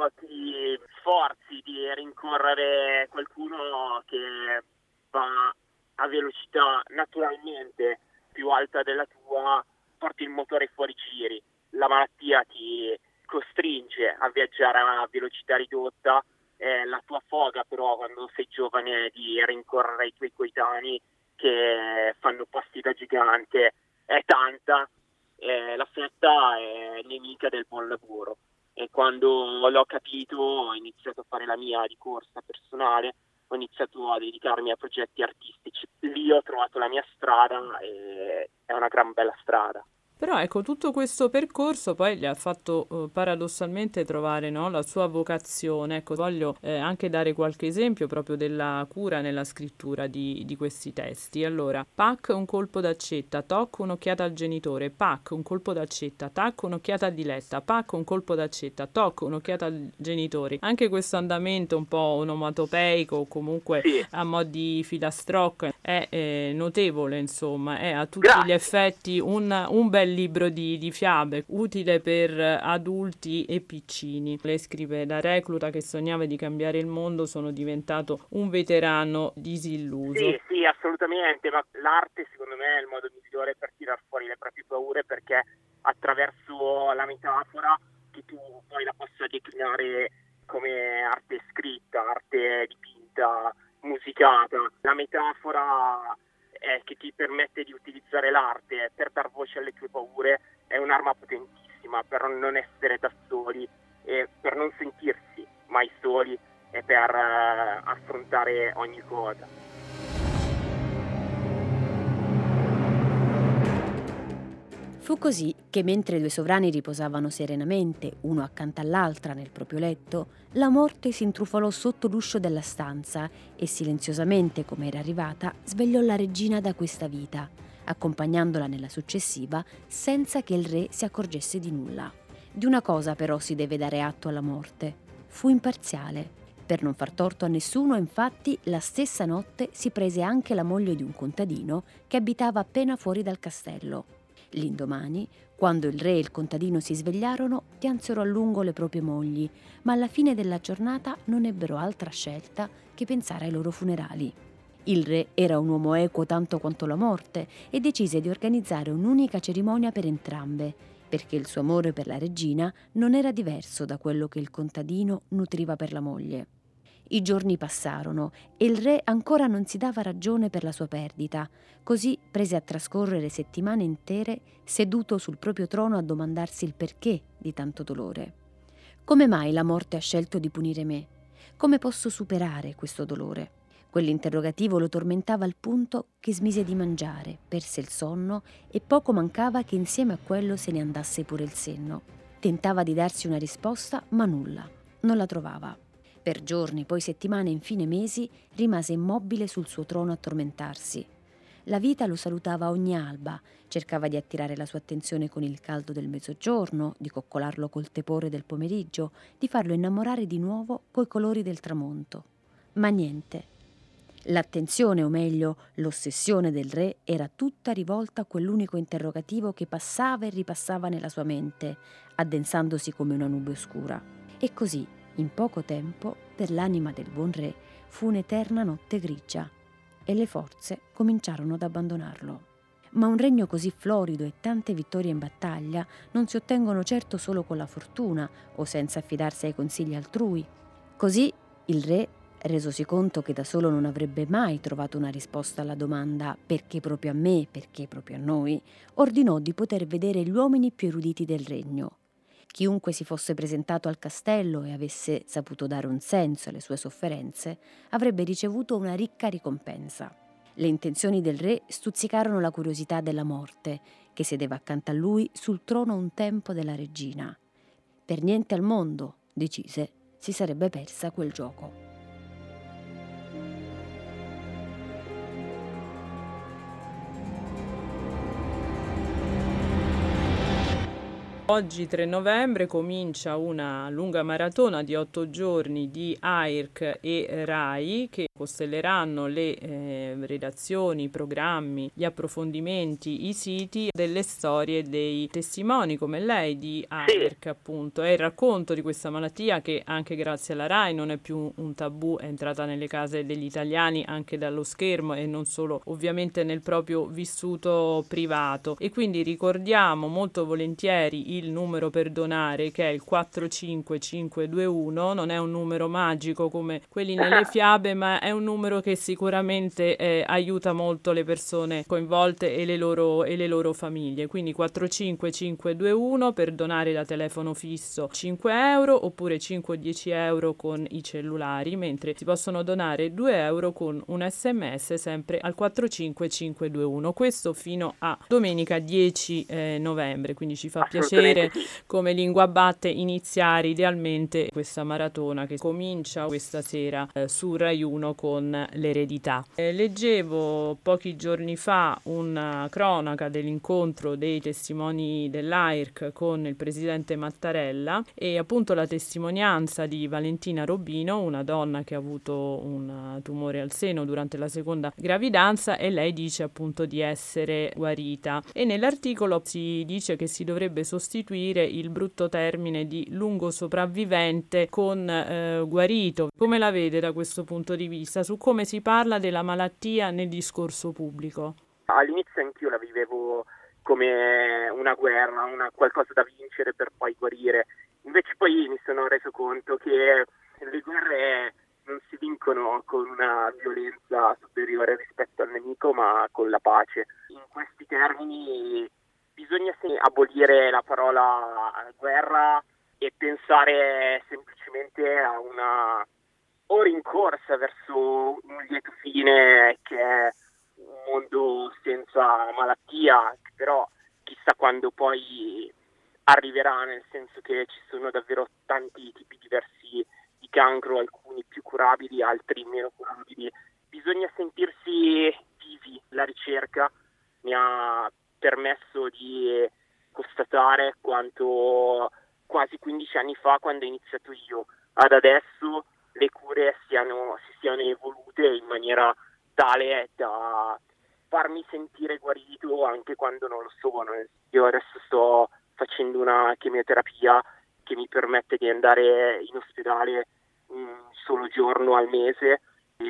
ti sforzi di rincorrere qualcuno che va a velocità naturalmente più alta della tua, porti il motore fuori giri. La malattia ti costringe a viaggiare a velocità ridotta, la tua foga però quando sei giovane di rincorrere i tuoi coetanei che fanno passi da gigante è tanta. La fretta è nemica del buon lavoro, e quando l'ho capito ho iniziato a fare la mia di corsa personale, ho iniziato a dedicarmi a progetti artistici. Lì ho trovato la mia strada e è una gran bella strada. Però ecco, tutto questo percorso poi gli ha fatto paradossalmente trovare, no, la sua vocazione. Ecco, voglio anche dare qualche esempio proprio della cura nella scrittura di questi testi. Allora, pac, un colpo d'accetta, toc, un'occhiata al genitore, pac, un colpo d'accetta, tac, un'occhiata al diletta, pac, un colpo d'accetta, toc, un'occhiata al genitori. Anche questo andamento un po' onomatopeico o comunque a mo' di filastrocca è notevole, insomma, è a tutti gli effetti un bel libro di fiabe, utile per adulti e piccini. Lei scrive: da recluta che sognava di cambiare il mondo sono diventato un veterano disilluso. Sì, assolutamente, ma l'arte secondo me è il modo migliore per tirar fuori le proprie paure, perché attraverso la metafora che tu poi la possa declinare come arte scritta, arte dipinta, musicata. La metafora che ti permette di utilizzare l'arte per dar voce alle tue paure è un'arma potentissima per non essere da soli e per non sentirsi mai soli. e per affrontare ogni cosa. Fu così che mentre i due sovrani riposavano serenamente, uno accanto all'altra nel proprio letto, la morte si intrufolò sotto l'uscio della stanza e silenziosamente, come era arrivata, svegliò la regina da questa vita, accompagnandola nella successiva senza che il re si accorgesse di nulla. Di una cosa però si deve dare atto alla morte: fu imparziale. Per non far torto a nessuno, infatti, la stessa notte si prese anche la moglie di un contadino che abitava appena fuori dal castello. L'indomani, quando il re e il contadino si svegliarono, piansero a lungo le proprie mogli, ma alla fine della giornata non ebbero altra scelta che pensare ai loro funerali. Il re era un uomo equo tanto quanto la morte e decise di organizzare un'unica cerimonia per entrambe, perché il suo amore per la regina non era diverso da quello che il contadino nutriva per la moglie. I giorni passarono e il re ancora non si dava ragione per la sua perdita, così prese a trascorrere settimane intere seduto sul proprio trono a domandarsi il perché di tanto dolore. Come mai la morte ha scelto di punire me? Come posso superare questo dolore? Quell'interrogativo lo tormentava al punto che smise di mangiare, perse il sonno e poco mancava che insieme a quello se ne andasse pure il senno. Tentava di darsi una risposta, ma nulla, non la trovava. Per giorni, poi settimane, infine mesi, rimase immobile sul suo trono a tormentarsi. La vita lo salutava ogni alba, cercava di attirare la sua attenzione con il caldo del mezzogiorno, di coccolarlo col tepore del pomeriggio, di farlo innamorare di nuovo coi colori del tramonto. Ma niente. L'attenzione, o meglio, l'ossessione del re era tutta rivolta a quell'unico interrogativo che passava e ripassava nella sua mente, addensandosi come una nube oscura. E così, in poco tempo, per l'anima del buon re fu un'eterna notte grigia e le forze cominciarono ad abbandonarlo. Ma un regno così florido e tante vittorie in battaglia non si ottengono certo solo con la fortuna o senza affidarsi ai consigli altrui. Così il re, resosi conto che da solo non avrebbe mai trovato una risposta alla domanda «perché proprio a me, perché proprio a noi?», ordinò di poter vedere gli uomini più eruditi del regno. Chiunque si fosse presentato al castello e avesse saputo dare un senso alle sue sofferenze avrebbe ricevuto una ricca ricompensa. Le intenzioni del re stuzzicarono la curiosità della morte, che sedeva accanto a lui sul trono un tempo della regina. Per niente al mondo, decise, si sarebbe persa quel gioco. Oggi 3 novembre comincia una lunga maratona di 8 giorni di AIRC e RAI che costelleranno le redazioni, i programmi, gli approfondimenti, i siti delle storie dei testimoni come lei di AIRC appunto. È il racconto di questa malattia che anche grazie alla RAI non è più un tabù, è entrata nelle case degli italiani anche dallo schermo e non solo ovviamente nel proprio vissuto privato. E quindi ricordiamo molto volentieri il numero per donare che è il 45521, non è un numero magico come quelli nelle fiabe ma è un numero che sicuramente aiuta molto le persone coinvolte e le loro famiglie, quindi 45521 per donare da telefono fisso 5 euro oppure 5 o 10 euro con i cellulari, mentre si possono donare 2 euro con un sms sempre al 45521, questo fino a domenica 10 novembre, quindi ci fa piacere come Lingua Batte iniziare idealmente questa maratona che comincia questa sera su Rai 1 con l'eredità. Leggevo pochi giorni fa una cronaca dell'incontro dei testimoni dell'AIRC con il presidente Mattarella e appunto la testimonianza di Valentina Robino, una donna che ha avuto un tumore al seno durante la seconda gravidanza e lei dice appunto di essere guarita, e nell'articolo si dice che si dovrebbe sostituire il brutto termine di lungo sopravvivente con guarito. Come la vede da questo punto di vista, su come si parla della malattia nel discorso pubblico? All'inizio anch'io la vivevo come una guerra, qualcosa da vincere per poi guarire. Invece poi mi sono reso conto che le guerre non si vincono con una violenza superiore rispetto al nemico, ma con la pace. In questi termini bisogna abolire la parola guerra e pensare semplicemente a una o rincorsa verso un lieto fine che è un mondo senza malattia, che però chissà quando poi arriverà, nel senso che ci sono davvero tanti tipi diversi di cancro, alcuni più curabili, altri meno curabili. Bisogna sentirsi vivi. La ricerca mi ha permesso di constatare quanto quasi 15 anni fa, quando ho iniziato io, ad adesso le cure si siano evolute in maniera tale da farmi sentire guarito anche quando non lo sono. Io adesso sto facendo una chemioterapia che mi permette di andare in ospedale un solo giorno al mese, il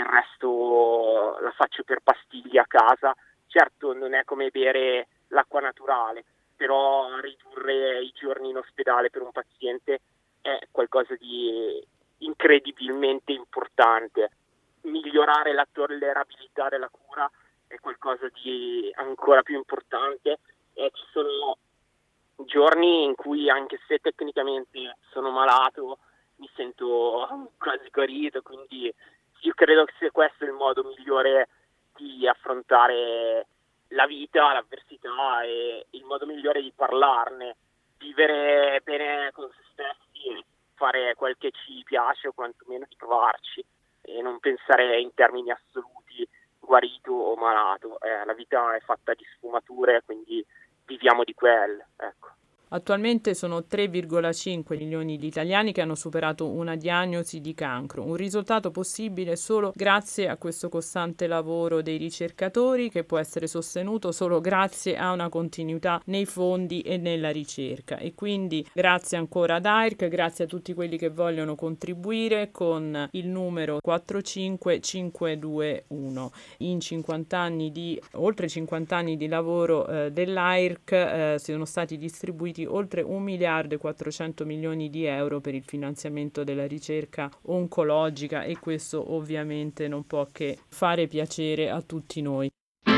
resto la faccio per pastiglie a casa. Certo, non è come bere l'acqua naturale, però ridurre i giorni in ospedale per un paziente è qualcosa di incredibilmente importante. Migliorare la tollerabilità della cura è qualcosa di ancora più importante, e ci sono giorni in cui, anche se tecnicamente sono malato, mi sento quasi guarito, quindi io credo che sia questo il modo migliore di affrontare la vita, l'avversità, e il modo migliore di parlarne, vivere bene con se stessi, fare quel che ci piace o quantomeno di provarci, e non pensare in termini assoluti, guarito o malato. La vita è fatta di sfumature, quindi viviamo di quelle, ecco. Attualmente sono 3,5 milioni di italiani che hanno superato una diagnosi di cancro, un risultato possibile solo grazie a questo costante lavoro dei ricercatori, che può essere sostenuto solo grazie a una continuità nei fondi e nella ricerca. E quindi grazie ancora ad AIRC, grazie a tutti quelli che vogliono contribuire con il numero 45521. In 50 anni di oltre 50 anni di lavoro dell'AIRC sono stati distribuiti oltre 1 miliardo e 400 milioni di euro per il finanziamento della ricerca oncologica, e questo ovviamente non può che fare piacere a tutti noi.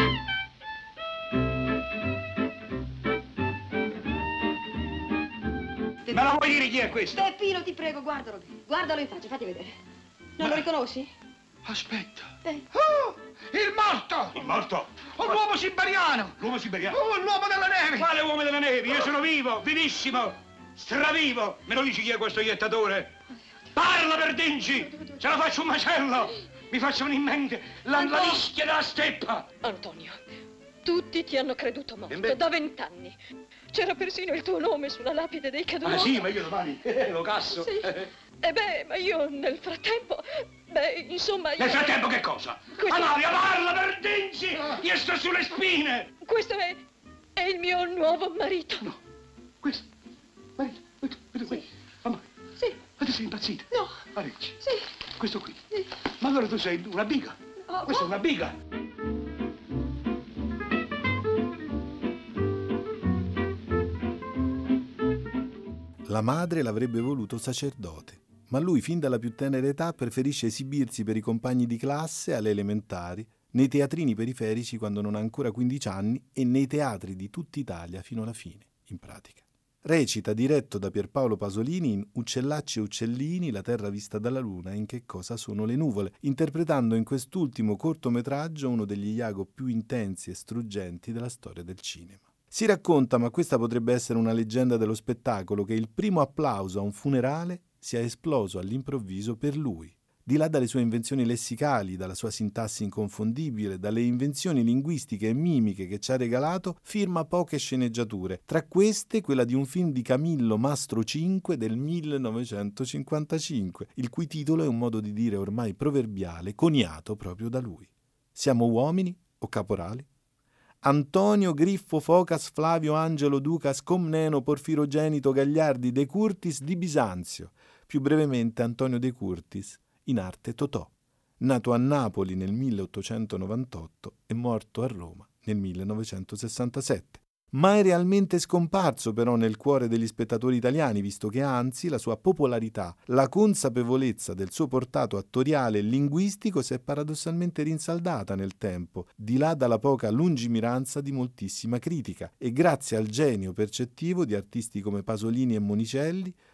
Me la vuoi dire chi è questo? Peppino, ti prego, guardalo. Guardalo in faccia, fatti vedere. Non lo riconosci? Aspetta. Oh, il morto! Il morto? L'uomo siberiano! L'uomo siberiano? L'uomo della neve! Quale uomo della neve? Io sono vivo, vivissimo, stravivo! Me lo dici chi è questo iettatore? Parla, Verdinci! Ce la faccio un macello! Mi facciano in mente la mischia della steppa! Antonio, tutti ti hanno creduto morto da 20 anni. C'era persino il tuo nome sulla lapide dei caduti. Ah sì, ma io domani lo casso. Sì. Ma io nel frattempo... insomma... Nel frattempo che cosa? Amalia, parla, Verdinci! Io sto sulle spine! Questo è il mio nuovo marito. No, questo? Marito? Questo? Amalia? Sì. Ma tu sei impazzita? No. Arecci? Sì. Questo qui? Sì. Ma allora tu sei una biga? Oh, Questa è una biga? La madre l'avrebbe voluto sacerdote, ma lui fin dalla più tenera età preferisce esibirsi per i compagni di classe alle elementari, nei teatrini periferici quando non ha ancora 15 anni e nei teatri di tutta Italia fino alla fine, in pratica. Recita, diretto da Pierpaolo Pasolini, in Uccellacci e uccellini, la terra vista dalla luna, in Che cosa sono le nuvole, interpretando in quest'ultimo cortometraggio uno degli Iago più intensi e struggenti della storia del cinema. Si racconta, ma questa potrebbe essere una leggenda dello spettacolo, che il primo applauso a un funerale sia esploso all'improvviso per lui. Di là dalle sue invenzioni lessicali, dalla sua sintassi inconfondibile, dalle invenzioni linguistiche e mimiche che ci ha regalato, firma poche sceneggiature, tra queste quella di un film di Camillo Mastro 5 del 1955, il cui titolo è un modo di dire ormai proverbiale, coniato proprio da lui. Siamo uomini o caporali? Antonio, Griffo, Focas, Flavio, Angelo, Ducas, Comneno, Porfirogenito, Gagliardi, De Curtis di Bisanzio, più brevemente Antonio De Curtis, in arte Totò, nato a Napoli nel 1898 e morto a Roma nel 1967. Mai realmente scomparso però nel cuore degli spettatori italiani, visto che anzi la sua popolarità, la consapevolezza del suo portato attoriale e linguistico si è paradossalmente rinsaldata nel tempo, di là dalla poca lungimiranza di moltissima critica, e grazie al genio percettivo di artisti come Pasolini e Monicelli,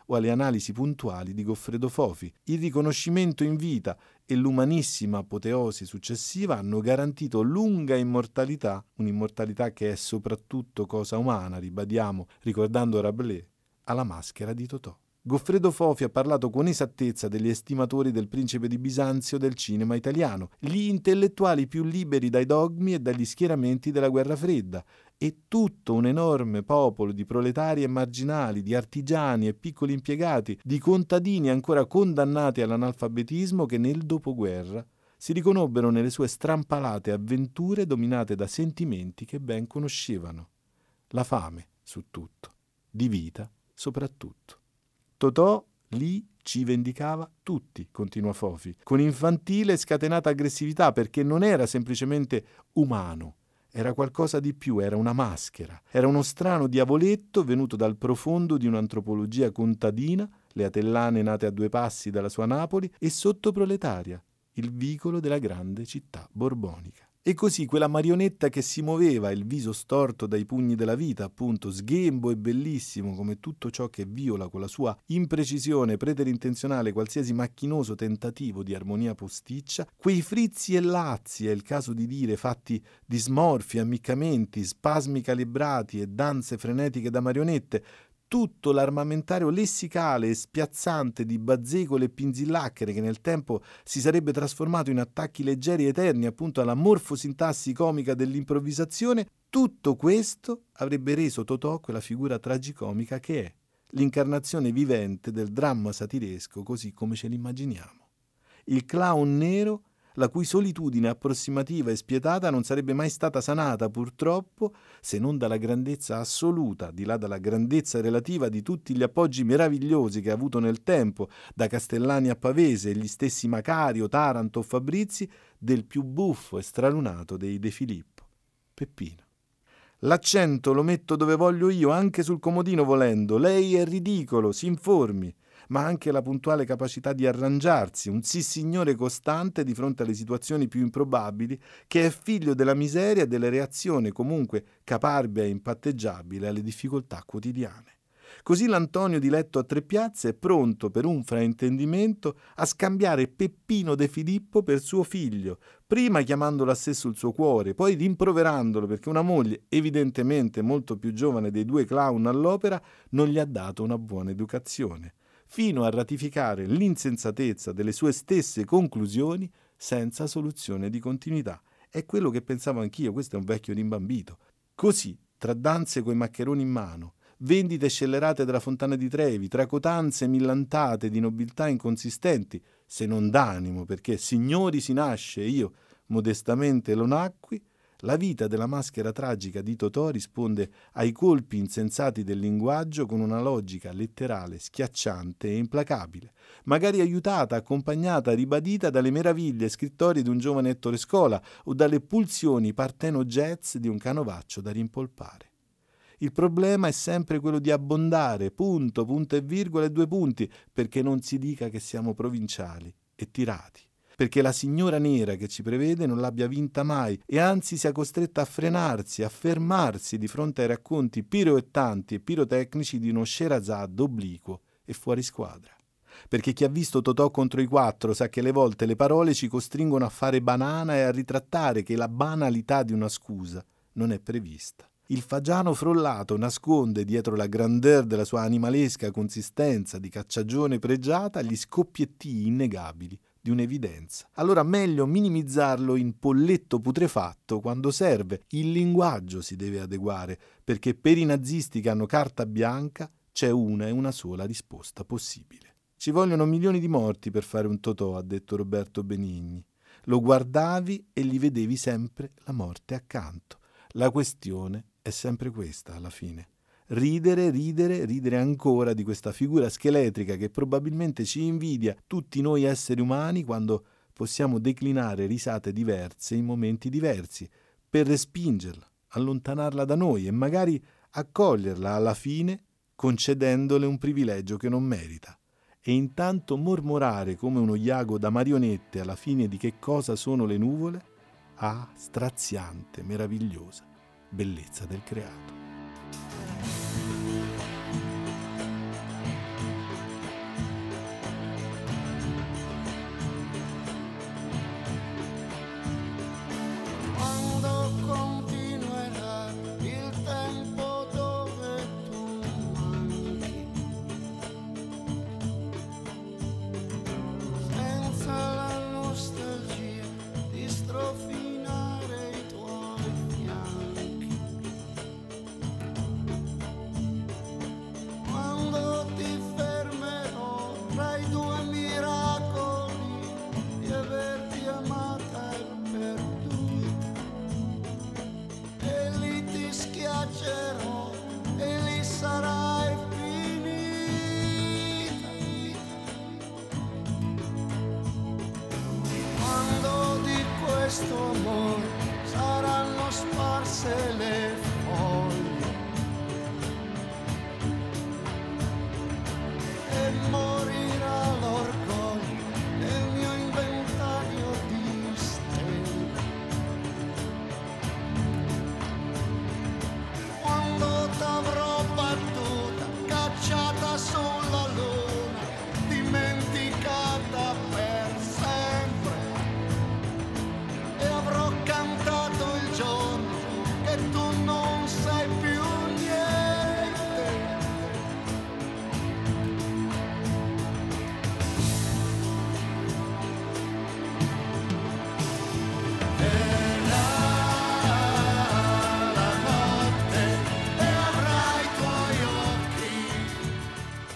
o alle analisi puntuali di Goffredo Fofi. Il riconoscimento in vita e l'umanissima apoteosi successiva hanno garantito lunga immortalità, un'immortalità che è soprattutto cosa umana, ribadiamo, ricordando Rabelais, alla maschera di Totò. Goffredo Fofi ha parlato con esattezza degli estimatori del Principe di Bisanzio del cinema italiano, gli intellettuali più liberi dai dogmi e dagli schieramenti della guerra fredda, e tutto un enorme popolo di proletari e marginali, di artigiani e piccoli impiegati, di contadini ancora condannati all'analfabetismo che nel dopoguerra si riconobbero nelle sue strampalate avventure dominate da sentimenti che ben conoscevano. La fame su tutto, di vita soprattutto. Totò lì ci vendicava tutti, continua Fofi, con infantile e scatenata aggressività, perché non era semplicemente umano, era qualcosa di più, era una maschera, era uno strano diavoletto venuto dal profondo di un'antropologia contadina, le atellane nate a 2 passi dalla sua Napoli, e sottoproletaria, il vicolo della grande città borbonica. E così quella marionetta che si muoveva, il viso storto dai pugni della vita, appunto, sghembo e bellissimo come tutto ciò che viola con la sua imprecisione preterintenzionale qualsiasi macchinoso tentativo di armonia posticcia, quei frizzi e lazzi, è il caso di dire, fatti di smorfi, ammiccamenti, spasmi calibrati e danze frenetiche da marionette, tutto l'armamentario lessicale e spiazzante di bazzecole e pinzillacchere che nel tempo si sarebbe trasformato in attacchi leggeri e eterni appunto alla morfosintassi comica dell'improvvisazione, tutto questo avrebbe reso Totò quella figura tragicomica che è, l'incarnazione vivente del dramma satiresco così come ce l'immaginiamo. Il clown nero, la cui solitudine approssimativa e spietata non sarebbe mai stata sanata, purtroppo, se non dalla grandezza assoluta, di là dalla grandezza relativa di tutti gli appoggi meravigliosi che ha avuto nel tempo, da Castellani a Pavese e gli stessi Macario, Taranto o Fabrizi, del più buffo e stralunato dei De Filippo, Peppino. L'accento lo metto dove voglio io, anche sul comodino volendo, lei è ridicolo, si informi, ma anche la puntuale capacità di arrangiarsi, un sissignore costante di fronte alle situazioni più improbabili, che è figlio della miseria e delle reazioni comunque caparbia e impatteggiabile alle difficoltà quotidiane. Così l'Antonio di letto a 3 piazze è pronto per un fraintendimento a scambiare Peppino De Filippo per suo figlio, prima chiamandolo a sé sul suo cuore, poi rimproverandolo perché una moglie, evidentemente molto più giovane dei 2 clown all'opera, non gli ha dato una buona educazione, fino a ratificare l'insensatezza delle sue stesse conclusioni senza soluzione di continuità. È quello che pensavo anch'io, questo è un vecchio rimbambito. Così, tra danze coi maccheroni in mano, vendite scellerate della Fontana di Trevi, tracotanze millantate di nobiltà inconsistenti, se non d'animo, perché signori si nasce e io modestamente lo nacqui, la vita della maschera tragica di Totò risponde ai colpi insensati del linguaggio con una logica letterale schiacciante e implacabile, magari aiutata, accompagnata, ribadita dalle meraviglie scrittorie di un giovane Ettore Scola o dalle pulsioni parteno-jazz di un canovaccio da rimpolpare. Il problema è sempre quello di abbondare, punto, punto e virgola e 2 punti, perché non si dica che siamo provinciali e tirati, perché la signora nera che ci prevede non l'abbia vinta mai e anzi sia costretta a frenarsi, a fermarsi di fronte ai racconti piroettanti e pirotecnici di uno Sherazad obliquo e fuori squadra. Perché chi ha visto Totò contro i 4 sa che alle volte le parole ci costringono a fare banana e a ritrattare che la banalità di una scusa non è prevista. Il fagiano frollato nasconde dietro la grandeur della sua animalesca consistenza di cacciagione pregiata gli scoppiettii innegabili di un'evidenza. Allora meglio minimizzarlo in polletto putrefatto quando serve. Il linguaggio si deve adeguare, perché per i nazisti che hanno carta bianca c'è una e una sola risposta possibile. Ci vogliono milioni di morti per fare un Totò, ha detto Roberto Benigni. Lo guardavi e gli vedevi sempre la morte accanto. La questione è sempre questa alla fine. Ridere, ridere, ridere ancora di questa figura scheletrica che probabilmente ci invidia tutti noi esseri umani quando possiamo declinare risate diverse in momenti diversi per respingerla, allontanarla da noi e magari accoglierla alla fine concedendole un privilegio che non merita. E intanto mormorare come uno iago da marionette alla fine di Che cosa sono le nuvole? Ah, straziante, meravigliosa bellezza del creato.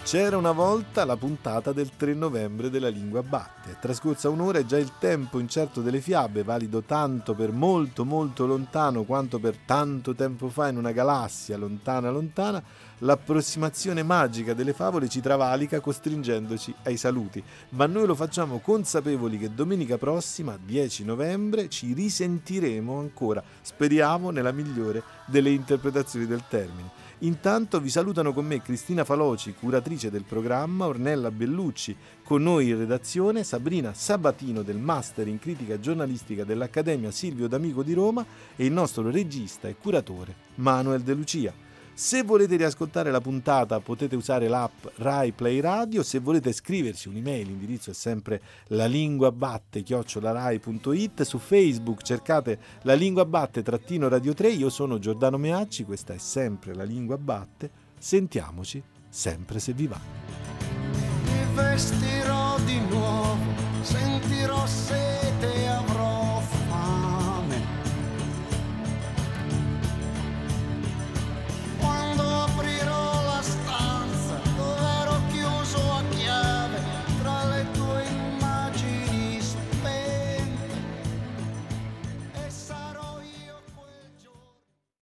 C'era una volta la puntata del 3 novembre della Lingua Batte. È trascorsa un'ora e già il tempo incerto delle fiabe, valido tanto per molto molto lontano quanto per tanto tempo fa in una galassia lontana lontana, l'approssimazione magica delle favole ci travalica costringendoci ai saluti. Ma noi lo facciamo consapevoli che domenica prossima, 10 novembre, ci risentiremo ancora, speriamo nella migliore delle interpretazioni del termine. Intanto vi salutano con me Cristina Faloci, curatrice del programma, Ornella Bellucci, con noi in redazione Sabrina Sabatino del Master in Critica Giornalistica dell'Accademia Silvio D'Amico di Roma e il nostro regista e curatore Manuel De Lucia. Se volete riascoltare la puntata potete usare l'app Rai Play Radio, se volete scriverci un'email l'indirizzo è sempre lalinguabatte@rai.it, su Facebook cercate La Lingua Batte _Radio 3, io sono Giordano Meacci, questa è sempre La Lingua Batte, sentiamoci sempre se vi va. Mi vestirò